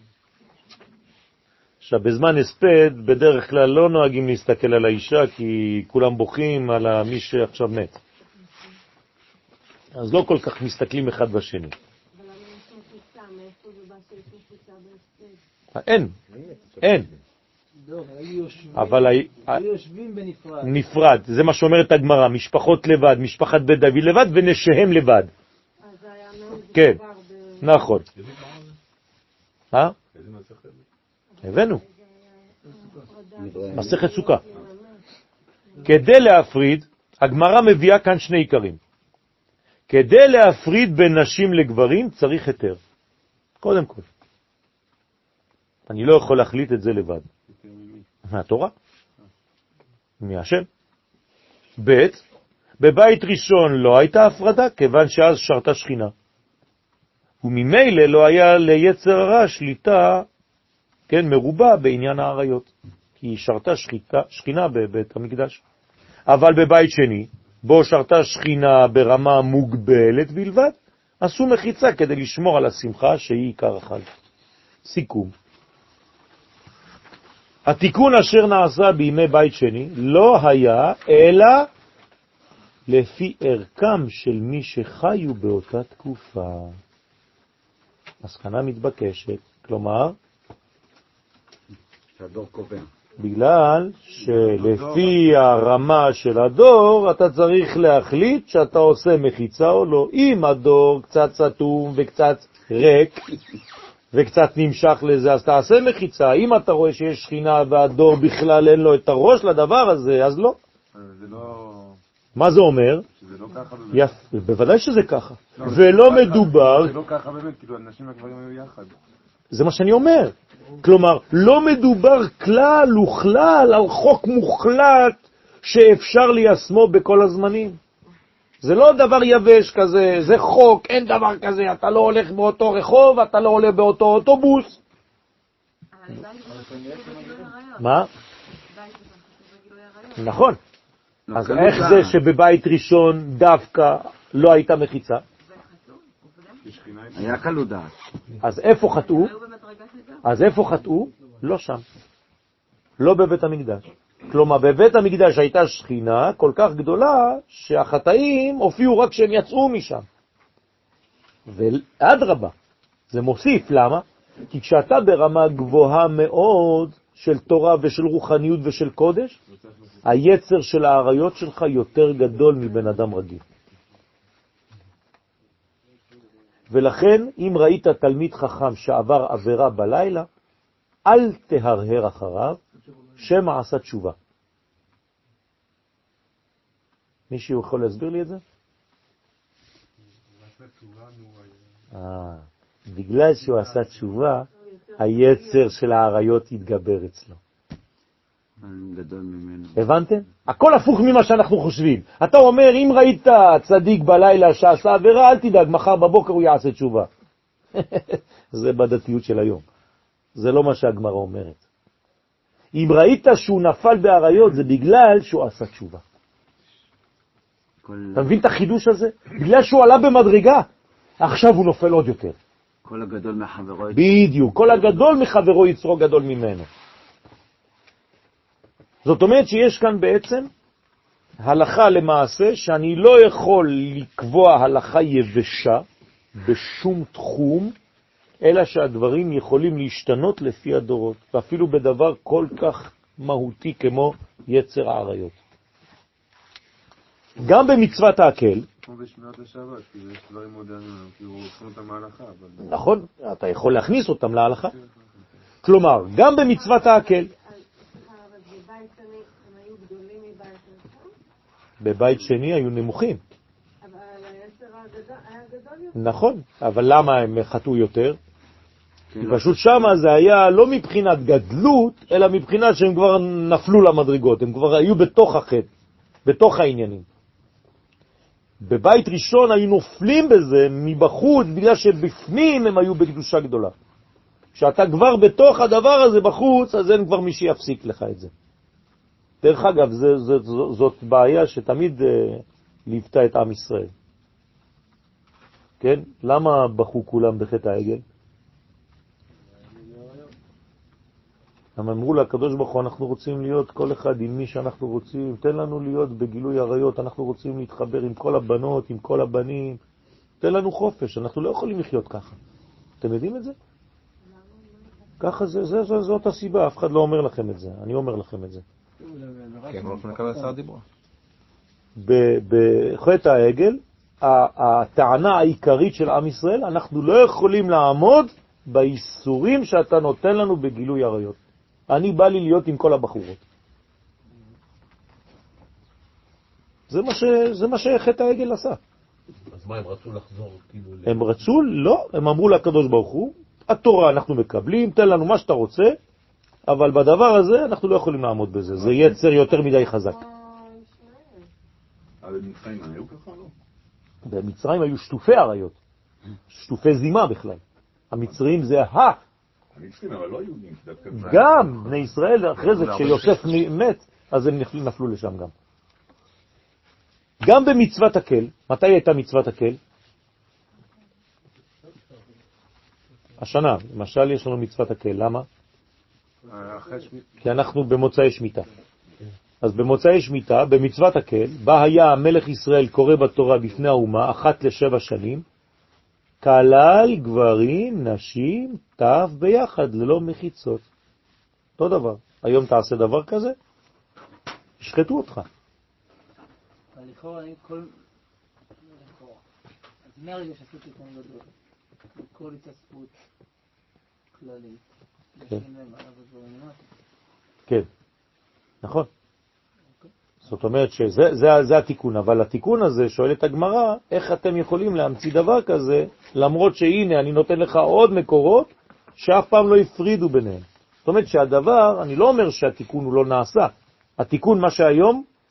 עכשיו, בזמן הספד בדרך כלל לא נוהגים להסתכל על האישה, כי כולם בוכים על מי שעכשיו מת. אז לא כל כך מסתכלים אחד בשני. אין, אין. אבל יושבים בנפרד. נפרד, זה מה שאומרת הגמרא, משפחות לבד, משפחת בית דוד לבד ונשיהם לבד. כן, נכון. אה? הבאנו. מסכת סוכה. כדי להפריד, הגמרא מביאה כאן שני עיקרים. כדי להפריד בין נשים לגברים צריך היתר. קודם כל. אני לא יכול להחליט את זה לבד. מהתורה. מהשם. ב' בבית ראשון לא הייתה הפרדה, כיוון שאז שרתה שכינה. וממילא לא היה ליצר הרע שליטה, כן, מרובה בעניין העריות. כי היא שרתה שחיתה, שכינה בבית המקדש. אבל בבית שני, בו שרתה שכינה ברמה מוגבלת בלבד, עשו מחיצה כדי לשמור על השמחה שהיא עיקר החג. סיכום. התיקון אשר נעשה בימי בית שני לא היה אלא לפי ערכם של מי שחיו באותה תקופה. מסקנה מתבקשת, כלומר, שהדור קובע. בגלל שלפי הרמה של הדור אתה צריך להחליט שאתה עושה מחיצה או לא. אם הדור קצת סתום וקצת ריק וקצת נמשך לזה, אז תעשה מחיצה. אם אתה רואה שיש שכינה והדור בכלל אין לו את הראש לדבר הזה, אז לא. זה לא... מה זה אומר? שזה לא ככה באמת. יפה, בוודאי שזה ככה. ולא מדובר... זה לא ככה באמת, כאילו אנשים והגברים היו יחד. זה מה שאני אומר. כלומר, לא מדובר כלל וכלל על חוק מוחלט שאפשר ליישמו בכל הזמנים. זה לא דבר יבש כזה, זה חוק, אין דבר כזה, אתה לא הולך באותו רחוב, אתה לא עולה באותו אוטובוס. מה? נכון. אז איך זה שבבית ראשון דווקא לא הייתה מחיצה? היה קלות דעת. אז איפה חטאו? אז איפה חטאו? לא שם. לא בבית המקדש. כלומר, בבית המקדש הייתה שכינה כל כך גדולה שהחטאים הופיעו רק כשהם יצאו משם. ואדרבה, זה מוסיף. למה? כי כשאתה ברמה גבוהה מאוד של תורה ושל רוחניות ושל קודש, היצר של העריות שלך יותר גדול מבן אדם רגיל. ולכן, אם ראית תלמיד חכם שעבר עבירה בלילה, אל תהרהר אחריו, שמא עשה תשובה. מישהו יכול להסביר לי את זה? אה, בגלל שהוא עשה תשובה, היצר של העריות יתגבר אצלו. גדול ממנו. הבנתם? הכל הפוך ממה שאנחנו חושבים. אתה אומר, אם ראית צדיק בלילה שעשה עבירה, אל תדאג, מחר בבוקר הוא יעשה תשובה. זה בדתיות של היום. זה לא מה שהגמרא אומרת. אם ראית שהוא נפל בעריות, זה בגלל שהוא עשה תשובה. כל... אתה מבין את החידוש הזה? בגלל שהוא עלה במדרגה, עכשיו הוא נופל עוד יותר. כל הגדול מחברו... בדיוק, כל הגדול מחברו יצרו גדול ממנו. זאת אומרת שיש כאן בעצם הלכה למעשה שאני לא יכול לקבוע הלכה יבשה בשום תחום, אלא שהדברים יכולים להשתנות לפי הדורות, ואפילו בדבר כל כך מהותי כמו יצר העריות. גם במצוות ההקל, כמו בשמירת השבת, כי יש דברים מודרניים, כי הוא עושים אותם להלכה. נכון, אתה יכול להכניס אותם להלכה. כלומר, גם במצוות ההקל. בבית שני היו נמוכים. אבל היצר היה גדול יותר. נכון, אבל למה הם חטאו יותר? כי פשוט שמה זה היה לא מבחינת גדלות, אלא מבחינת שהם כבר נפלו למדרגות, הם כבר היו בתוך החטא, בתוך העניינים. בבית ראשון היו נופלים בזה מבחוץ, בגלל שבפנים הם היו בקדושה גדולה. כשאתה כבר בתוך הדבר הזה בחוץ, אז אין כבר מי שיפסיק לך את זה. דרך אגב, זה, זה, זאת בעיה שתמיד uh, ליוותה את עם ישראל. כן? למה בחו כולם בחטא העגל? הם אמרו לקדוש ברוך הוא, אנחנו רוצים להיות כל אחד עם מי שאנחנו רוצים, תן לנו להיות בגילוי עריות, אנחנו רוצים להתחבר עם כל הבנות, עם כל הבנים, תן לנו חופש, אנחנו לא יכולים לחיות ככה. אתם יודעים את זה? ככה זה, זה, זה, זאת הסיבה, אף אחד לא אומר לכם את זה, אני אומר לכם את זה. כן, לא יכולים לקבל עשרה דיבור. בחטא העגל, הטענה העיקרית של עם ישראל, אנחנו לא יכולים לעמוד באיסורים שאתה נותן לנו בגילוי עריות. אני בא לי להיות עם כל הבחורות. זה מה ש... זה מה שחטא העגל עשה. אז מה, הם רצו לחזור כאילו... הם רצו? לא. הם אמרו לקדוש ברוך הוא, התורה אנחנו מקבלים, תן לנו מה שאתה רוצה, אבל בדבר הזה אנחנו לא יכולים לעמוד בזה. זה יצר יותר מדי חזק. אבל במצרים היו ככה לא? במצרים היו שטופי עריות. שטופי זימה בכלל. המצרים זה ה... המצרים, אבל לא יהודים. גם בני ישראל, אחרי זה כשיוסף מת, אז הם נפלו לשם גם. גם במצוות הקל, מתי הייתה מצוות הקל? השנה, למשל יש לנו מצוות הקל, למה? כי אנחנו במוצאי שמיטה. אז במוצאי שמיטה, במצוות הקל, בה היה המלך ישראל קורא בתורה בפני האומה, אחת לשבע שנים, כלל גברים, נשים, טף ביחד, ללא מחיצות. אותו דבר. היום תעשה דבר כזה, ישחטו אותך. אבל לכאורה, אני כל... לכאורה. אז מהרגע שעשיתי כאן גדול, כל התעסקות כללית, לשם להם עליו הדברים למטה. כן, נכון. זאת אומרת שזה זה, זה התיקון, אבל התיקון הזה שואל את הגמרא, איך אתם יכולים להמציא דבר כזה, למרות שהנה אני נותן לך עוד מקורות שאף פעם לא הפרידו ביניהם. זאת אומרת שהדבר, אני לא אומר שהתיקון הוא לא נעשה, התיקון מה שהיום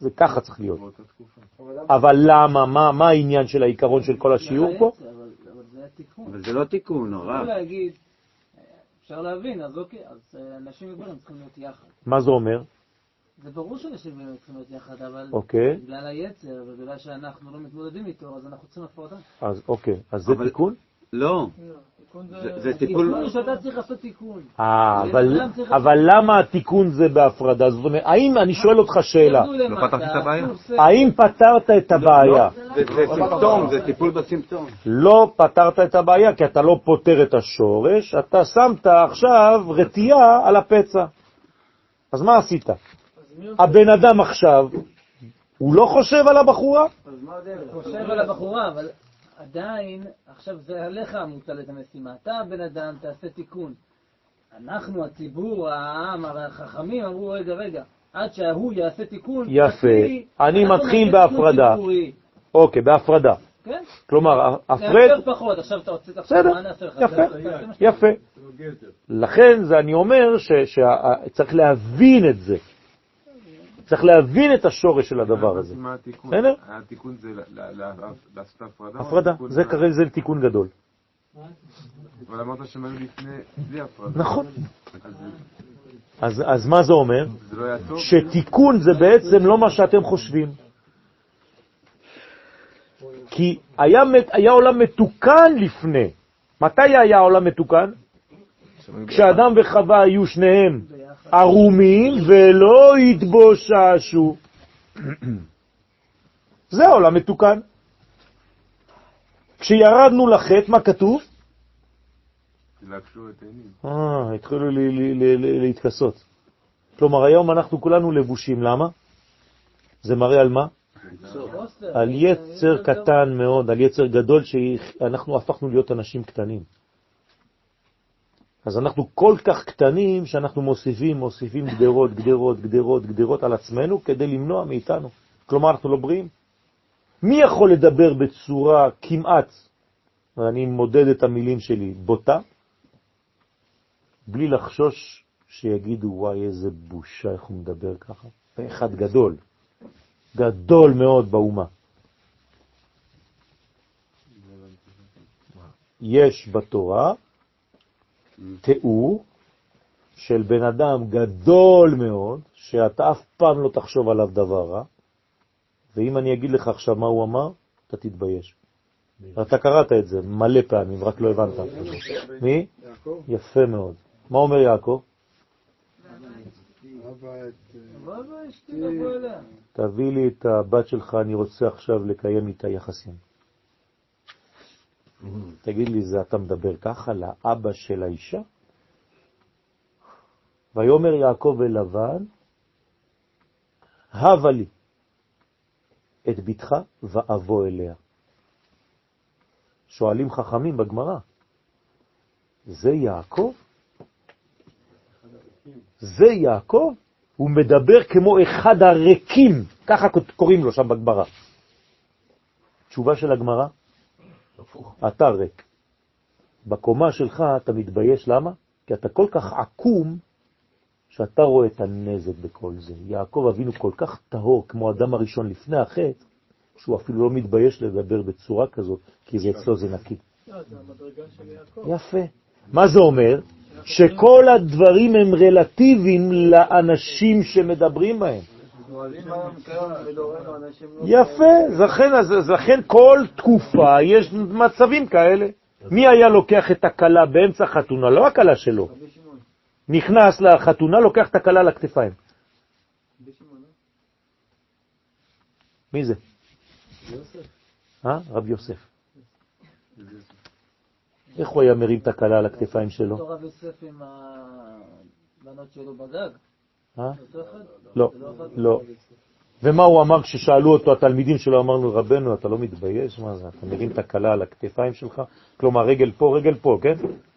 זה ככה צריך להיות. אבל למה? מה, מה העניין של העיקרון של כל השיעור פה? אבל זה התיקון. אבל זה לא תיקון, הרב. אפשר להגיד, אפשר להבין, אז אוקיי, אז אנשים וגברים צריכים להיות יחד. מה זה אומר? זה ברור שאנשים וגברים צריכים להיות יחד, אבל אוקיי. בגלל היצר ובגלל שאנחנו לא מתמודדים איתו, אז אנחנו צריכים הפרדה. אז אוקיי, אז זה אבל- תיקון? לא. זה- זה טיפול... תיקון שאתה צריך לעשות תיקון. אה, אבל, אבל למה התיקון זה בהפרדה? זאת אומרת, האם, אני שואל אותך שאלה, לא פתחתי את הבעיה? האם פתרת את הבעיה? זה זה סימפטום, זה טיפול בסימפטום. לא פתרת את הבעיה, כי אתה לא פותר את השורש, אתה שמת עכשיו רתיעה על הפצע. אז מה עשית? הבן אדם עכשיו, הוא לא חושב על הבחורה? חושב על הבחורה, אבל עדיין, עכשיו זה עליך מוטל את המשימה. אתה בן אדם, תעשה תיקון. אנחנו, הציבור, העם, החכמים, אמרו, רגע, רגע, עד שההוא יעשה תיקון. יפה. תקריא, אני אנחנו מתחיל נעשה תיקון בהפרדה. ציבורי. אוקיי, בהפרדה. כן? כלומר, הפרד... נעשה פחות, עכשיו אתה רוצה... בסדר, מה נעשה לך? יפה, תעשה מה שאתה יפה. לכן זה אני אומר שצריך להבין את זה. צריך להבין את השורש של הדבר הזה. מה התיקון? בסדר? התיקון זה ל- ל- ל- לעשות הפרדה? או הפרדה, התיקון זה ה- כרגע זה תיקון גדול. אבל אמרת שהם היו לפני, בלי הפרדה. נכון. אז אז, אז מה זה אומר? זה לא יעצור? שתיקון זה בעצם לא מה שאתם חושבים. כי היה, היה עולם מתוקן לפני. מתי היה עולם מתוקן? כשאדם וחווה היו שניהם ערומים ולא התבוששו. זה העולם מתוקן. כשירדנו לחטא, מה כתוב? להקשו את העינים. אה, התחילו לי- לי- לי- לי- להתכסות. כלומר, היום אנחנו כולנו לבושים. למה? זה מראה על מה? על יצר קטן מאוד, על יצר גדול שאנחנו הפכנו להיות אנשים קטנים. אז אנחנו כל כך קטנים שאנחנו מוסיפים, מוסיפים גדרות, גדרות, גדרות, גדרות על עצמנו כדי למנוע מאיתנו. כלומר, אנחנו לא בריאים. מי יכול לדבר בצורה כמעט, ואני מודד את המילים שלי, בוטה, בלי לחשוש שיגידו, וואי, איזה בושה, איך הוא מדבר ככה. אחד גדול, גדול מאוד באומה. יש בתורה תיאור של בן אדם גדול מאוד, שאתה אף פעם לא תחשוב עליו דבר רע, ואם אני אגיד לך עכשיו מה הוא אמר, אתה תתבייש. אתה קראת את זה מלא פעמים, רק לא הבנת. מי? יפה מאוד. מה אומר יעקב? תביא לי את הבת שלך, אני רוצה עכשיו לקיים איתה יחסים. תגיד לי, זה אתה מדבר ככה לאבא של האישה? ויאמר יעקב אל לבן, הבה לי את ביתך ואבוא אליה. שואלים חכמים בגמרא, זה יעקב? זה יעקב? הוא מדבר כמו אחד הרקים, ככה קוראים לו שם בגמרא. תשובה של הגמרא, אתה ריק. בקומה שלך אתה מתבייש, למה? כי אתה כל כך עקום שאתה רואה את הנזק בכל זה. יעקב אבינו כל כך טהור כמו אדם הראשון לפני החטא, שהוא אפילו לא מתבייש לדבר בצורה כזאת, כי זה אצלו זה נקי. יפה. מה זה אומר? שכל הדברים הם רלטיביים לאנשים שמדברים בהם. יפה, זכן, זכן כל תקופה יש מצבים כאלה. מי היה לוקח את הקלה באמצע חתונה? לא הקלה שלו. נכנס לחתונה, לוקח את הקלה לכתפיים. מי זה? אה? רב יוסף. איך הוא היה מרים את הקלה על הכתפיים שלו? אותו רב יוסף עם הבנות שלו בגג? אה? לא, לא. ומה הוא אמר כששאלו אותו התלמידים שלו? אמרנו, רבנו, אתה לא מתבייש? מה זה? אתה מרים את הקלה על הכתפיים שלך? כלומר, רגל פה, רגל פה, כן?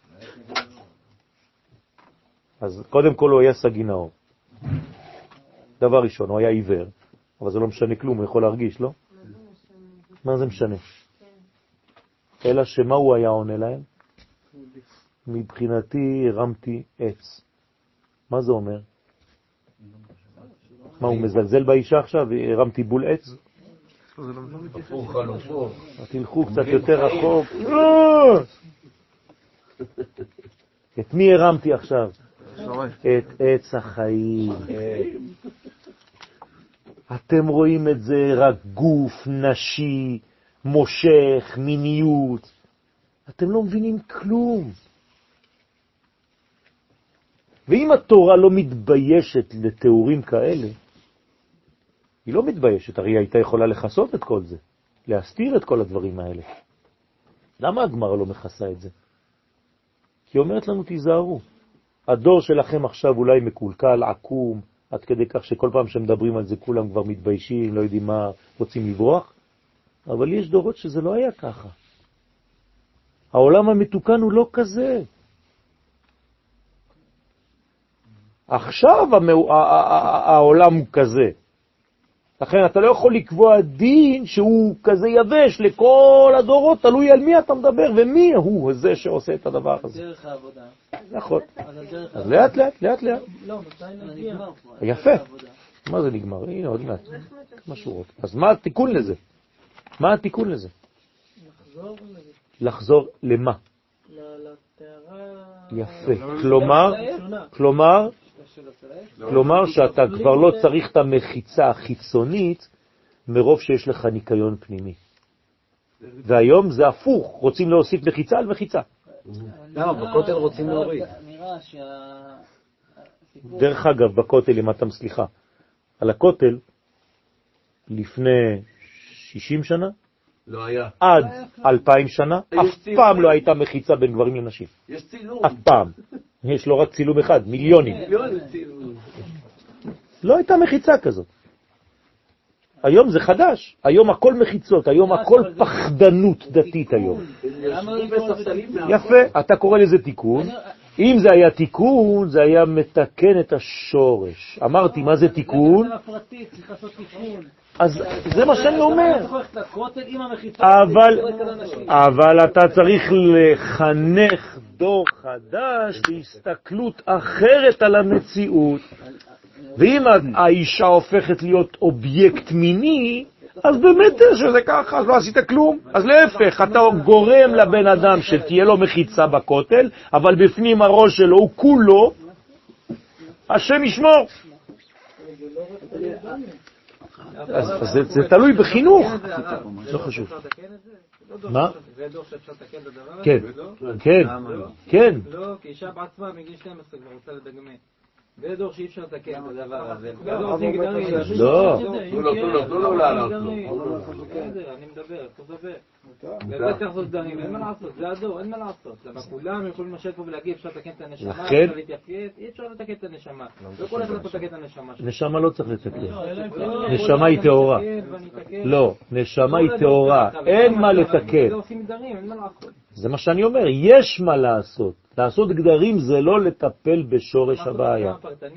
אז קודם כל הוא היה סגינאור. דבר ראשון, הוא היה עיוור, אבל זה לא משנה כלום, הוא יכול להרגיש, לא? מה זה משנה? אלא שמה הוא היה עונה להם? מבחינתי הרמתי עץ. מה זה אומר? מה, הוא מזלזל באישה עכשיו? הרמתי בול עץ? הפוך חלופו. תלכו קצת יותר רחוק. את מי הרמתי עכשיו? את עץ החיים. אתם רואים את זה רק גוף נשי, מושך, מיניות. אתם לא מבינים כלום. ואם התורה לא מתביישת לתיאורים כאלה, היא לא מתביישת, הרי היא הייתה יכולה לחסות את כל זה, להסתיר את כל הדברים האלה. למה הגמרא לא מכסה את זה? כי היא אומרת לנו, תיזהרו. הדור שלכם עכשיו אולי מקולקל, עקום, עד כדי כך שכל פעם שמדברים על זה כולם כבר מתביישים, לא יודעים מה, רוצים לברוח. אבל יש דורות שזה לא היה ככה. העולם המתוקן הוא לא כזה. עכשיו העולם הוא כזה. לכן אתה לא יכול לקבוע דין שהוא כזה יבש לכל הדורות, תלוי על מי אתה מדבר ומי הוא זה שעושה את הדבר הזה. דרך העבודה. נכון. אז לאט לאט, לאט לאט. לא, מתי נגיע? יפה. מה זה נגמר? הנה עוד מעט. מה שורות. אז מה התיקון לזה? מה התיקון לזה? לחזור לזה. לחזור למה? לתארה... יפה. כלומר, כלומר, כלומר שאתה כבר לא צריך את המחיצה החיצונית מרוב שיש לך ניקיון פנימי. והיום זה הפוך, רוצים להוסיף מחיצה על מחיצה. למה? בכותל רוצים להוריד. נראה שה... דרך אגב, בכותל, אם אתם סליחה, על הכותל, לפני שישים שנה, לא היה. עד אלפיים שנה, אף פעם לא הייתה מחיצה בין גברים לנשים. יש צילום. אף פעם. יש לו רק צילום אחד, מיליונים. מיליונים צילום. לא הייתה מחיצה כזאת. היום זה חדש, היום הכל מחיצות, היום הכל פחדנות דתית היום. יפה, אתה קורא לזה תיקון. אם זה היה תיקון, זה היה מתקן את השורש. אמרתי, מה זה תיקון? אז זה מה שאני אומר. אבל, אבל אתה צריך לחנך דור חדש להסתכלות אחרת על המציאות. ואם האישה הופכת להיות אובייקט מיני, אז באמת שזה ככה, אז לא עשית כלום. אז להפך, אתה גורם לבן אדם שתהיה לו מחיצה בכותל, אבל בפנים הראש שלו הוא כולו, השם ישמור. אז זה תלוי בחינוך. לא חשוב. מה? זה דור שאפשר לתקן את הדבר הזה? כן, כן, כן. לא, כי אישה בעצמה מגיל שתים עשרה כבר רוצה לדגמי. זה דור שאי אפשר לתקן את הדבר הזה. לא. תנו לו, תנו לו, תנו לו לעלות לו. אני מדבר, אתה מדבר. וזה צריך לעשות דברים, אין מה לעשות, זה הדור, אין מה לעשות. למה כולם יכולים לשבת פה ולהגיד אפשר לתקן את הנשמה, אפשר להתייפייף, אי אפשר לתקן את הנשמה. לא כל אחד יכול לתקן את הנשמה. נשמה לא צריך לתקן. נשמה היא טהורה. לא, נשמה היא טהורה, אין מה לתקן. זה עושים גדרים, אין מה לעשות. זה מה שאני אומר, יש מה לעשות. לעשות גדרים זה לא לטפל בשורש הבעיה.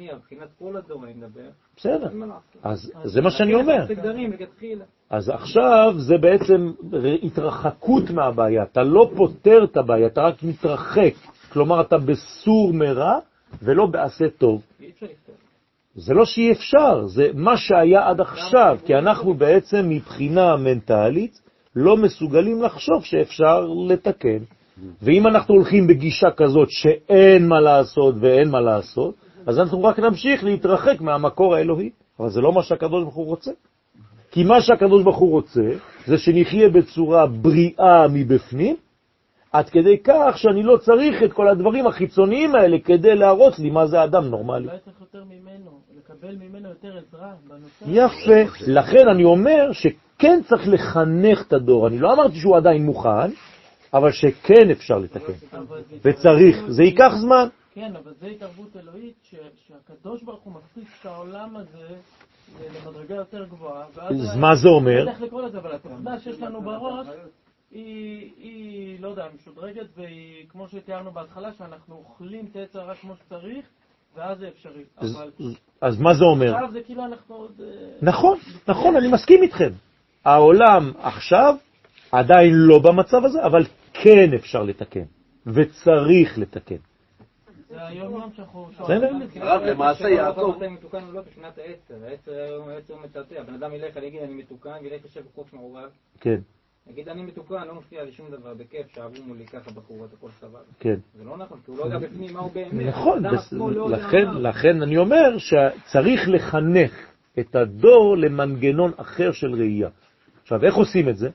בסדר, אז זה מה שאני אומר. אז עכשיו זה בעצם התרחקות מהבעיה, אתה לא פותר את הבעיה, אתה רק מתרחק. כלומר, אתה בסור מרע ולא בעשה טוב. זה לא שאי אפשר, זה מה שהיה עד עכשיו, כי אנחנו בעצם מבחינה מנטלית לא מסוגלים לחשוב שאפשר לתקן. ואם אנחנו הולכים בגישה כזאת שאין מה לעשות ואין מה לעשות, אז אנחנו רק נמשיך להתרחק מהמקור האלוהי. אבל זה לא מה שהקדוש ברוך הוא רוצה. כי מה שהקדוש ברוך הוא רוצה, זה שנחיה בצורה בריאה מבפנים, עד כדי כך שאני לא צריך את כל הדברים החיצוניים האלה כדי להראות לי מה זה אדם נורמלי. אולי צריך יותר ממנו, לקבל ממנו יותר עזרה בנושא. יפה. לכן אני אומר שכן צריך לחנך את הדור. אני לא אמרתי שהוא עדיין מוכן, אבל שכן אפשר לתקן. וצריך. זה ייקח זמן. כן, אבל זה התערבות אלוהית שהקדוש ברוך הוא מפסיק את העולם הזה למדרגה יותר גבוהה. אז מה זה אומר? אני צריך לקרוא לזה, אבל התוכנה שיש לנו בראש היא, היא, לא יודע, משודרגת, והיא, כמו שתיארנו בהתחלה, שאנחנו אוכלים את היצר רק כמו שצריך, ואז זה אפשרי. אז, אבל... אז מה זה אומר? עכשיו זה כאילו אנחנו עוד... נכון, נכון, אני מסכים איתכם. העולם עכשיו עדיין לא במצב הזה, אבל כן אפשר לתקן, וצריך לתקן. זה היום יום שאנחנו... הרב, למעשה יעקב... אתה מתוקן או לא בשנת העשר, העשר הוא מצעצע, הבן אדם ילך, אני אגיד אני מתוקן, וילך לשב בחוץ מעורב. כן. נגיד אני מתוקן, לא מפריע לי שום דבר, בכיף, שעברו מולי ככה בחורות, הכל סבבה. כן. זה לא נכון, כי הוא לא יודע בפנים מה הוא באמת. נכון, לכן אני אומר שצריך לחנך את הדור למנגנון אחר של ראייה. עכשיו, איך עושים את זה?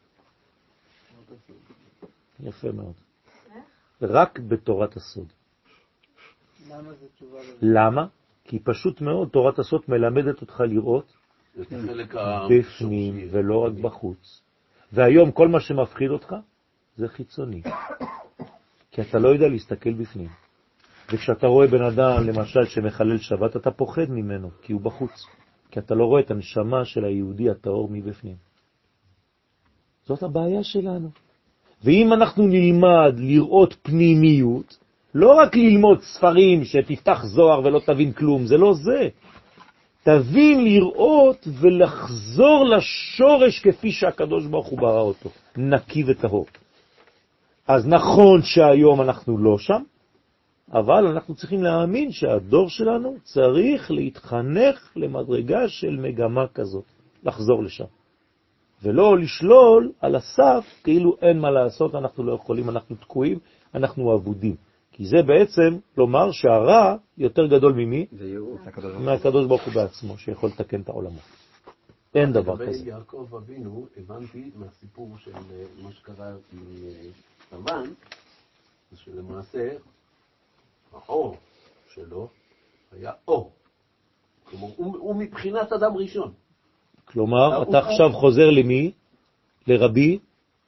יפה מאוד. רק בתורת הסוד. למה זה תשובה? למה? כי פשוט מאוד תורת הסוד מלמדת אותך לראות בפנים ולא רק בחוץ. והיום כל מה שמפחיד אותך זה חיצוני. כי אתה לא יודע להסתכל בפנים. וכשאתה רואה בן אדם למשל שמחלל שבת, אתה פוחד ממנו כי הוא בחוץ. כי אתה לא רואה את הנשמה של היהודי הטהור מבפנים. זאת הבעיה שלנו. ואם אנחנו נלמד לראות פנימיות, לא רק ללמוד ספרים שתפתח זוהר ולא תבין כלום, זה לא זה. תבין לראות ולחזור לשורש כפי שהקדוש ברוך הוא ברא אותו, נקי וטהור. אז נכון שהיום אנחנו לא שם, אבל אנחנו צריכים להאמין שהדור שלנו צריך להתחנך למדרגה של מגמה כזאת, לחזור לשם. ולא לשלול על הסף, כאילו אין מה לעשות, אנחנו לא יכולים, אנחנו תקועים, אנחנו עבודים. כי זה בעצם לומר שהרע יותר גדול ממי? מהקדוש ברוך הוא בעצמו, שיכול לתקן את העולמו. אין דבר כזה. לגבי יעקב אבינו, הבנתי מהסיפור של מה שקרה עם לבן, שלמעשה האור שלו היה אור. כלומר, הוא מבחינת אדם ראשון. כלומר, אתה עכשיו חוזר למי? לרבי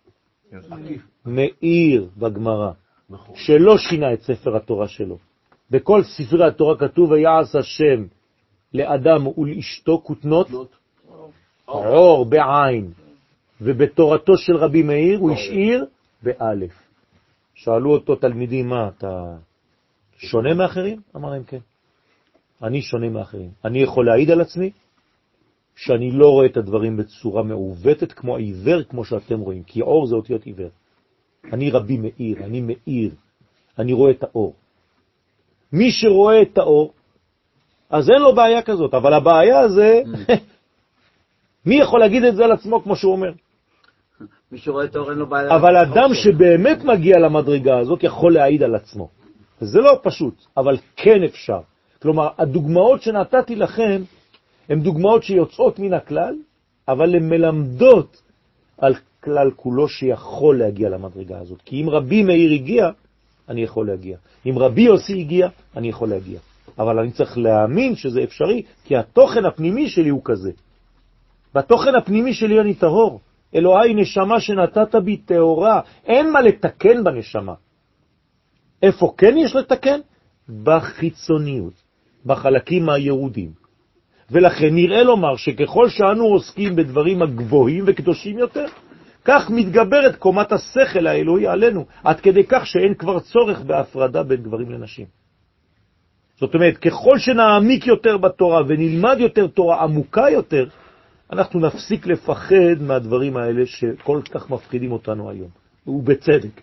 מאיר בגמרא, שלא שינה את ספר התורה שלו. בכל ספרי התורה כתוב, ויעש השם לאדם ולאשתו כותנות אור בעין, ובתורתו של רבי מאיר הוא השאיר באלף. שאלו אותו תלמידים, מה, אתה שונה מאחרים? אמר להם כן. אני שונה מאחרים. אני יכול להעיד על עצמי שאני לא רואה את הדברים בצורה מעוותת כמו העיוור, כמו שאתם רואים, כי אור זה אותיות עיוור. אני רבי מאיר, אני מאיר, אני רואה את האור. מי שרואה את האור, אז אין לו בעיה כזאת, אבל הבעיה זה, מי יכול להגיד את זה על עצמו כמו שהוא אומר? מי שרואה את האור אין לו בעיה. אבל אדם שבאמת מגיע למדרגה הזאת יכול להעיד על עצמו. זה לא פשוט, אבל כן אפשר. כלומר, הדוגמאות שנתתי לכם, הן דוגמאות שיוצאות מן הכלל, אבל הן מלמדות על כלל כולו שיכול להגיע למדרגה הזאת. כי אם רבי מאיר הגיע, אני יכול להגיע. אם רבי יוסי הגיע, אני יכול להגיע. אבל אני צריך להאמין שזה אפשרי, כי התוכן הפנימי שלי הוא כזה. בתוכן הפנימי שלי אני טהור. אלוהי נשמה שנתת בי טהורה. אין מה לתקן בנשמה. איפה כן יש לתקן? בחיצוניות, בחלקים היהודים. ולכן נראה לומר שככל שאנו עוסקים בדברים הגבוהים וקדושים יותר, כך מתגברת קומת השכל האלוהי עלינו, עד כדי כך שאין כבר צורך בהפרדה בין גברים לנשים. זאת אומרת, ככל שנעמיק יותר בתורה ונלמד יותר תורה עמוקה יותר, אנחנו נפסיק לפחד מהדברים האלה שכל כך מפחידים אותנו היום, ובצדק.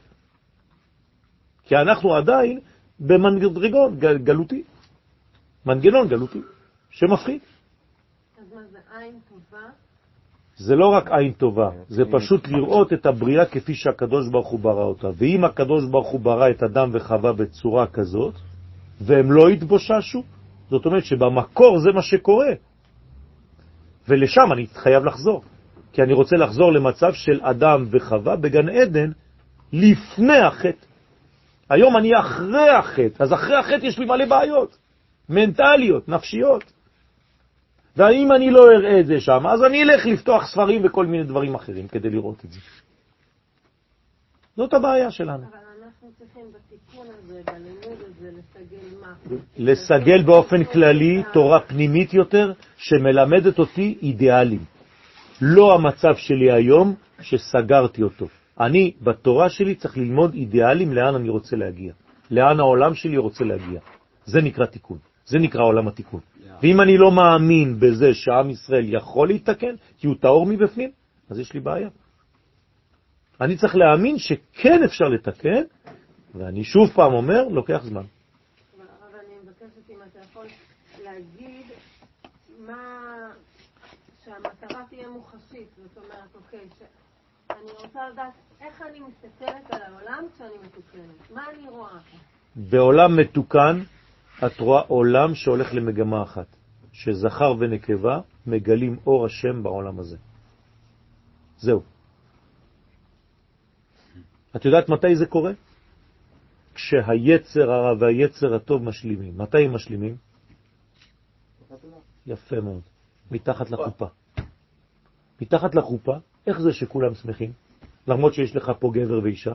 כי אנחנו עדיין במנגנון גלותי, מנגנון גלותי, שמפחיד. אז מה זה עין טובה? זה לא רק עין טובה, זה פשוט לראות את הבריאה כפי שהקדוש ברוך הוא ברא אותה. ואם הקדוש ברוך הוא ברא את אדם וחווה בצורה כזאת, והם לא התבוששו, זאת אומרת שבמקור זה מה שקורה. ולשם אני חייב לחזור. כי אני רוצה לחזור למצב של אדם וחווה בגן עדן לפני החטא. היום אני אחרי החטא, אז אחרי החטא יש לי מלא בעיות, מנטליות, נפשיות. ואם אני לא אראה את זה שם, אז אני אלך לפתוח ספרים וכל מיני דברים אחרים כדי לראות את זה. זאת הבעיה שלנו. אבל אנחנו צריכים בתיקון הזה, בלימוד הזה, לסגל מה? לסגל באופן כללי תורה פנימית יותר, שמלמדת אותי אידיאלים. לא המצב שלי היום שסגרתי אותו. אני בתורה שלי צריך ללמוד אידיאלים לאן אני רוצה להגיע. לאן העולם שלי רוצה להגיע. זה נקרא תיקון. זה נקרא עולם התיקון. ואם אני לא מאמין בזה שעם ישראל יכול להתקן, כי הוא טהור מבפנים, אז יש לי בעיה. אני צריך להאמין שכן אפשר לתקן, ואני שוב פעם אומר, לוקח זמן. להגיד מה, שהמטרה תהיה מוחשית, זאת אומרת, אוקיי, שאני רוצה לדעת איך אני מסתכלת על העולם כשאני מתוקנת, מה אני רואה? בעולם מתוקן את רואה עולם שהולך למגמה אחת, שזכר ונקבה מגלים אור השם בעולם הזה. זהו. את יודעת מתי זה קורה? כשהיצר הרע והיצר הטוב משלימים. מתי הם משלימים? יפה מאוד. מתחת לחופה. מתחת לחופה, איך זה שכולם שמחים? למרות שיש לך פה גבר ואישה.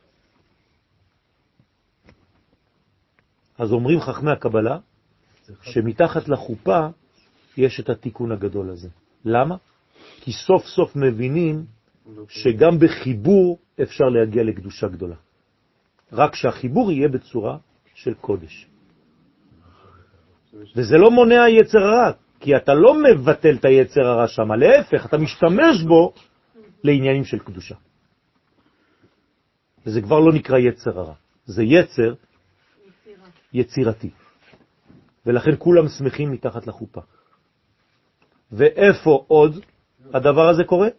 אז אומרים חכמי הקבלה שמתחת לחופה יש את התיקון הגדול הזה. למה? כי סוף סוף מבינים שגם בחיבור אפשר להגיע לקדושה גדולה. רק שהחיבור יהיה בצורה של קודש. וזה לא מונע יצר הרע, כי אתה לא מבטל את היצר הרע שם, להפך, אתה משתמש בו לעניינים של קדושה. וזה כבר לא נקרא יצר הרע, זה יצר יצירתי. ולכן כולם שמחים מתחת לחופה. ואיפה עוד הדבר הזה קורה?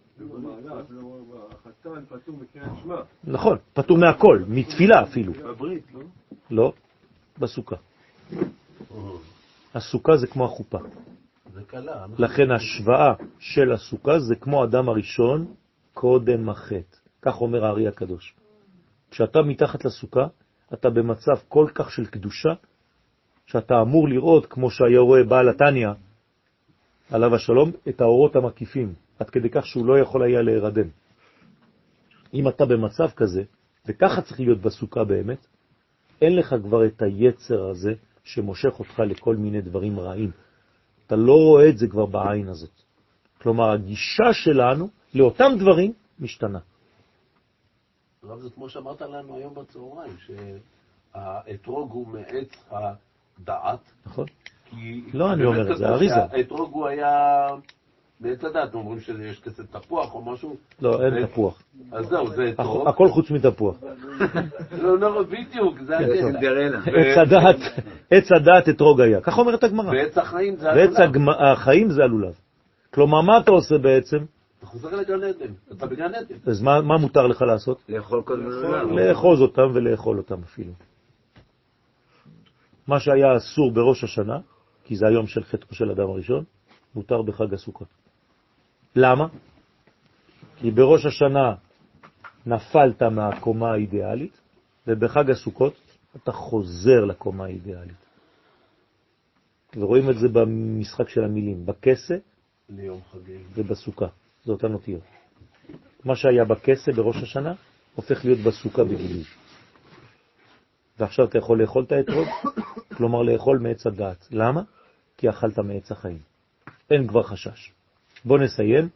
החתן פטור מקריאת שמע. נכון, פטור מהכל, מתפילה אפילו. בברית, לא? לא, בסוכה. הסוכה זה כמו החופה. זה קלה. לכן השוואה של הסוכה זה כמו אדם הראשון קודם החטא. כך אומר הארי הקדוש. כשאתה מתחת לסוכה, אתה במצב כל כך של קדושה, שאתה אמור לראות, כמו שהיה רואה בעל התניא, עליו השלום, את האורות המקיפים, עד כדי כך שהוא לא יכול היה להירדם. אם אתה במצב כזה, וככה צריך להיות בסוכה באמת, אין לך כבר את היצר הזה שמושך אותך לכל מיני דברים רעים. אתה לא רואה את זה כבר בעין הזאת. כלומר, הגישה שלנו לאותם דברים משתנה. רב, זה כמו שאמרת לנו היום בצהריים, שהאתרוג הוא מעץ הדעת. נכון? לא, אני אומר את זה, אריזה. האתרוג הוא היה מעץ הדעת, אומרים שיש כסף תפוח או משהו. לא, אין תפוח. אז זהו, זה אתרוג. הכל חוץ מתפוח. לא, לא, בדיוק, זה סינדרלה. עץ הדעת, עץ הדעת אתרוג היה. כך אומרת הגמרא. ועץ החיים זה הלולב. ועץ החיים זה הלולב. כלומר, מה אתה עושה בעצם? אתה חוזר לגן עדן, אתה בגן עדן. אז מה, מה מותר לך לעשות? לאכול כל מיני. לאחוז אותם ולאכול אותם אפילו. מה שהיה אסור בראש השנה, כי זה היום של חטאו של אדם הראשון, מותר בחג הסוכות. למה? כי בראש השנה נפלת מהקומה האידיאלית, ובחג הסוכות אתה חוזר לקומה האידיאלית. ורואים את זה במשחק של המילים, בכסה ובסוכה. זה אותן אותיות. מה שהיה בכסה בראש השנה, הופך להיות בסוכה בגילוי. ועכשיו אתה יכול לאכול את האתרוג, כלומר לאכול מעץ הדעת. למה? כי אכלת מעץ החיים. אין כבר חשש. בוא נסיים.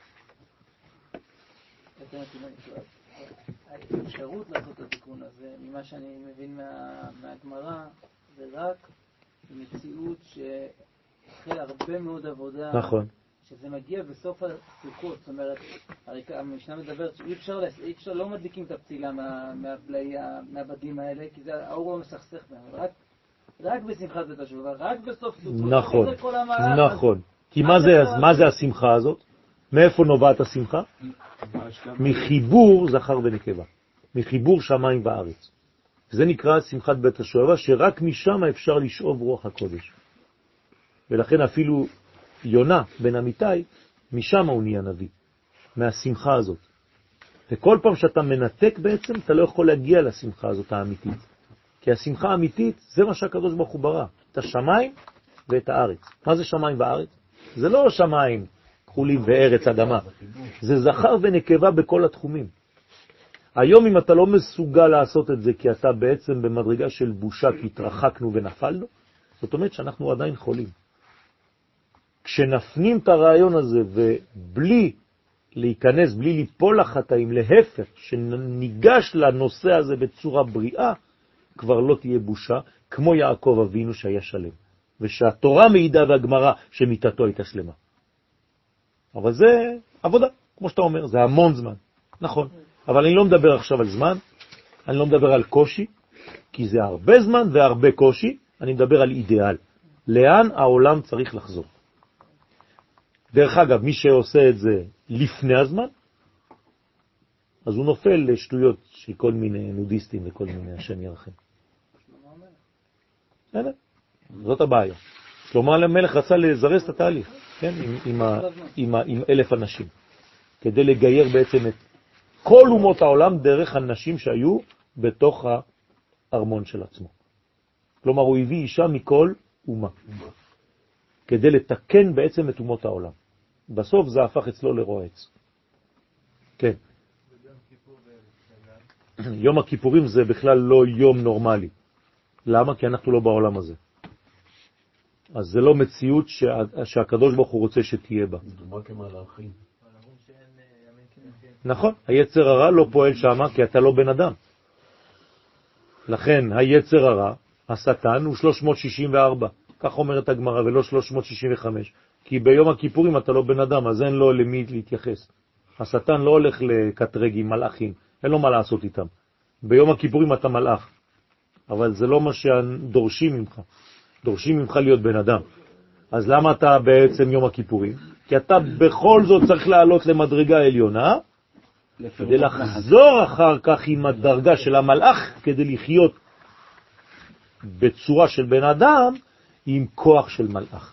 האפשרות לעשות את התיקון הזה, ממה שאני מבין מהגמרא, זה רק מציאות שאחרי הרבה מאוד עבודה, נכון. שזה מגיע בסוף הסוכות. זאת אומרת, המשנה מדברת שאי אפשר, אי אפשר, לא מדליקים את הפצילה מהפלאי, מהבדים האלה, כי זה האור לא מסכסך בהם. רק, רק בשמחת בית השואבה, רק בסוף סוכות. נכון, נכון. כי מה זה, מה זה השמחה הזאת? מאיפה נובעת השמחה? מחיבור זכר ונקבה. מחיבור שמיים וארץ. זה נקרא שמחת בית השואבה, שרק משם אפשר לשאוב רוח הקודש. ולכן אפילו יונה בן אמיתי, משם הוא נהיה נביא, מהשמחה הזאת. וכל פעם שאתה מנתק בעצם, אתה לא יכול להגיע לשמחה הזאת האמיתית. כי השמחה האמיתית, זה מה שהקדוש ברוך הוא ברא, את השמיים ואת הארץ. מה זה שמיים וארץ? זה לא שמיים כחולים וארץ אדמה. זה זכר ונקבה בכל התחומים. היום אם אתה לא מסוגל לעשות את זה, כי אתה בעצם במדרגה של בושה, כי התרחקנו ונפלנו, זאת אומרת שאנחנו עדיין חולים. כשנפנים את הרעיון הזה, ובלי להיכנס, בלי ליפול לחטאים, להפך, שניגש לנושא הזה בצורה בריאה, כבר לא תהיה בושה, כמו יעקב אבינו שהיה שלם. ושהתורה מעידה והגמרא שמיתתו הייתה שלמה. אבל זה עבודה, כמו שאתה אומר, זה המון זמן. נכון. אבל אני לא מדבר עכשיו על זמן, אני לא מדבר על קושי, כי זה הרבה זמן והרבה קושי, אני מדבר על אידיאל. לאן העולם צריך לחזור. דרך אגב, מי שעושה את זה לפני הזמן, אז הוא נופל לשטויות של כל מיני נודיסטים וכל מיני השם ירחם. זאת הבעיה. שלמה המלך רצה לזרז את התהליך, כן? עם, עם, ה, עם, ה, עם אלף אנשים, כדי לגייר בעצם את כל אומות העולם דרך אנשים שהיו בתוך הארמון של עצמו. כלומר, הוא הביא אישה מכל אומה, כדי לתקן בעצם את אומות העולם. בסוף זה הפך אצלו לרועץ. כן. יום הכיפורים זה בכלל לא יום נורמלי. למה? כי אנחנו לא בעולם הזה. אז זה לא מציאות שה, שהקדוש ברוך הוא רוצה שתהיה בה. דומה כמלאכים. נכון, היצר הרע לא פועל שם כי אתה לא בן אדם. לכן היצר הרע, השטן, הוא שלוש מאות שישים וארבע. כך אומרת הגמרא, ולא שלוש מאות שישים וחמש. כי ביום הכיפורים אתה לא בן אדם, אז אין לו למי להתייחס. השטן לא הולך לקטרג עם מלאכים, אין לו מה לעשות איתם. ביום הכיפורים אתה מלאך. אבל זה לא מה שדורשים ממך. דורשים ממך להיות בן אדם. אז למה אתה בעצם יום הכיפורים? כי אתה בכל זאת צריך לעלות למדרגה עליונה, כדי לחזור אחר כך עם הדרגה של המלאך, כדי לחיות בצורה של בן אדם, עם כוח של מלאך.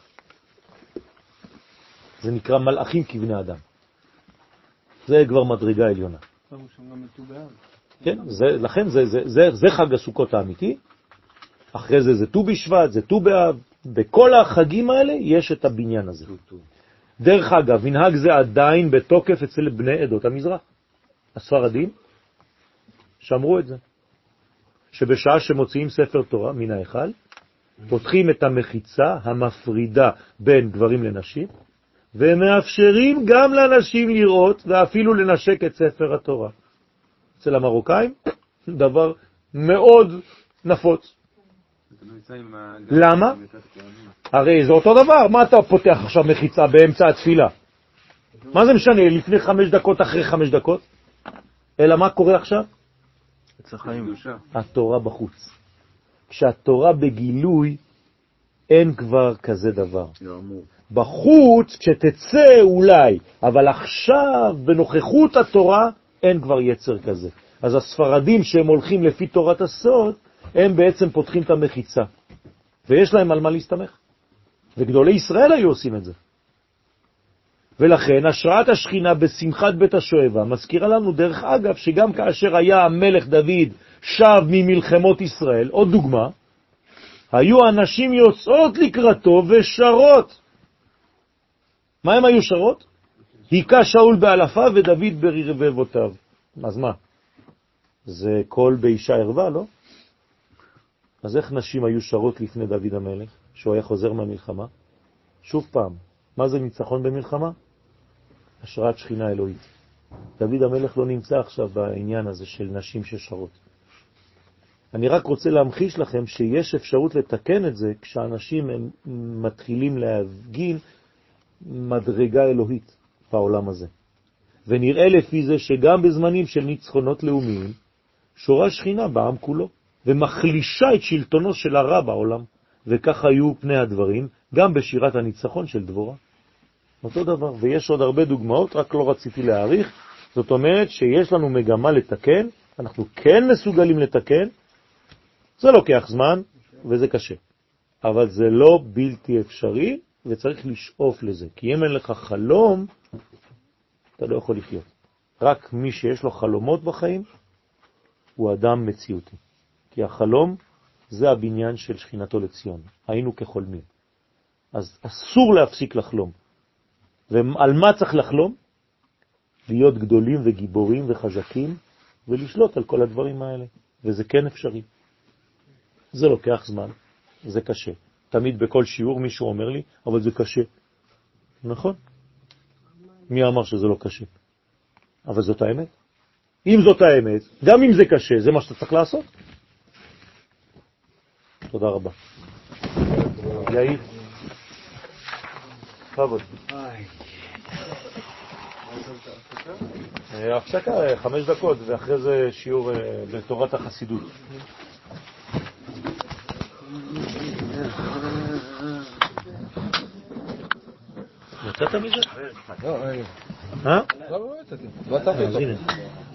זה נקרא מלאכים כבני אדם. זה כבר מדרגה עליונה. כן, זה, לכן זה, זה, זה, זה חג הסוכות האמיתי. אחרי זה זה ט"ו בשבט, זה ט"ו באב. בכל החגים האלה יש את הבניין הזה. דרך אגב, מנהג זה עדיין בתוקף אצל בני עדות המזרח. הספרדים שמרו את זה. שבשעה שמוציאים ספר תורה מן ההיכל, פותחים את המחיצה המפרידה בין גברים לנשים, ומאפשרים גם לנשים לראות ואפילו לנשק את ספר התורה. אצל המרוקאים, דבר מאוד נפוץ. למה? הרי זה אותו דבר. מה אתה פותח עכשיו מחיצה באמצע התפילה? מה זה משנה? לפני חמש דקות, אחרי חמש דקות? אלא מה קורה עכשיו? התורה בחוץ. כשהתורה בגילוי, אין כבר כזה דבר. בחוץ, כשתצא אולי, אבל עכשיו, בנוכחות התורה, אין כבר יצר כזה. אז הספרדים שהם הולכים לפי תורת הסוד, הם בעצם פותחים את המחיצה. ויש להם על מה להסתמך. וגדולי ישראל היו עושים את זה. ולכן, השראת השכינה בשמחת בית השואבה, מזכירה לנו דרך אגב, שגם כאשר היה המלך דוד שב ממלחמות ישראל, עוד דוגמה, היו אנשים יוצאות לקראתו ושרות. מה הם היו שרות? היכה שאול באלפה ודוד ברבבותיו. אז מה? זה קול באישה ערווה, לא? אז איך נשים היו שרות לפני דוד המלך, שהוא היה חוזר מהמלחמה? שוב פעם, מה זה ניצחון במלחמה? השראת שכינה אלוהית. דוד המלך לא נמצא עכשיו בעניין הזה של נשים ששרות. אני רק רוצה להמחיש לכם שיש אפשרות לתקן את זה כשאנשים הם מתחילים להפגין מדרגה אלוהית בעולם הזה. ונראה לפי זה שגם בזמנים של ניצחונות לאומיים, שורה שכינה בעם כולו, ומחלישה את שלטונו של הרע בעולם. וכך היו פני הדברים, גם בשירת הניצחון של דבורה. אותו דבר, ויש עוד הרבה דוגמאות, רק לא רציתי להאריך. זאת אומרת שיש לנו מגמה לתקן, אנחנו כן מסוגלים לתקן, זה לוקח זמן וזה קשה. אבל זה לא בלתי אפשרי, וצריך לשאוף לזה. כי אם אין לך חלום, אתה לא יכול לחיות. רק מי שיש לו חלומות בחיים, הוא אדם מציאותי. כי החלום זה הבניין של שכינתו לציון. היינו כחולמים. אז אסור להפסיק לחלום. ועל מה צריך לחלום? להיות גדולים וגיבורים וחזקים, ולשלוט על כל הדברים האלה. וזה כן אפשרי. זה לוקח זמן, זה קשה. תמיד בכל שיעור מישהו אומר לי, אבל זה קשה. נכון? מי אמר שזה לא קשה? אבל זאת האמת. אם זאת האמת, גם אם זה קשה, זה מה שאתה צריך לעשות. תודה רבה. יאיר. חבוד. הפסקה חמש דקות, ואחרי זה שיעור בתורת החסידות. יצאת מזה? לא, אה? לא, לא יצאתי. לא עצרתי אותו.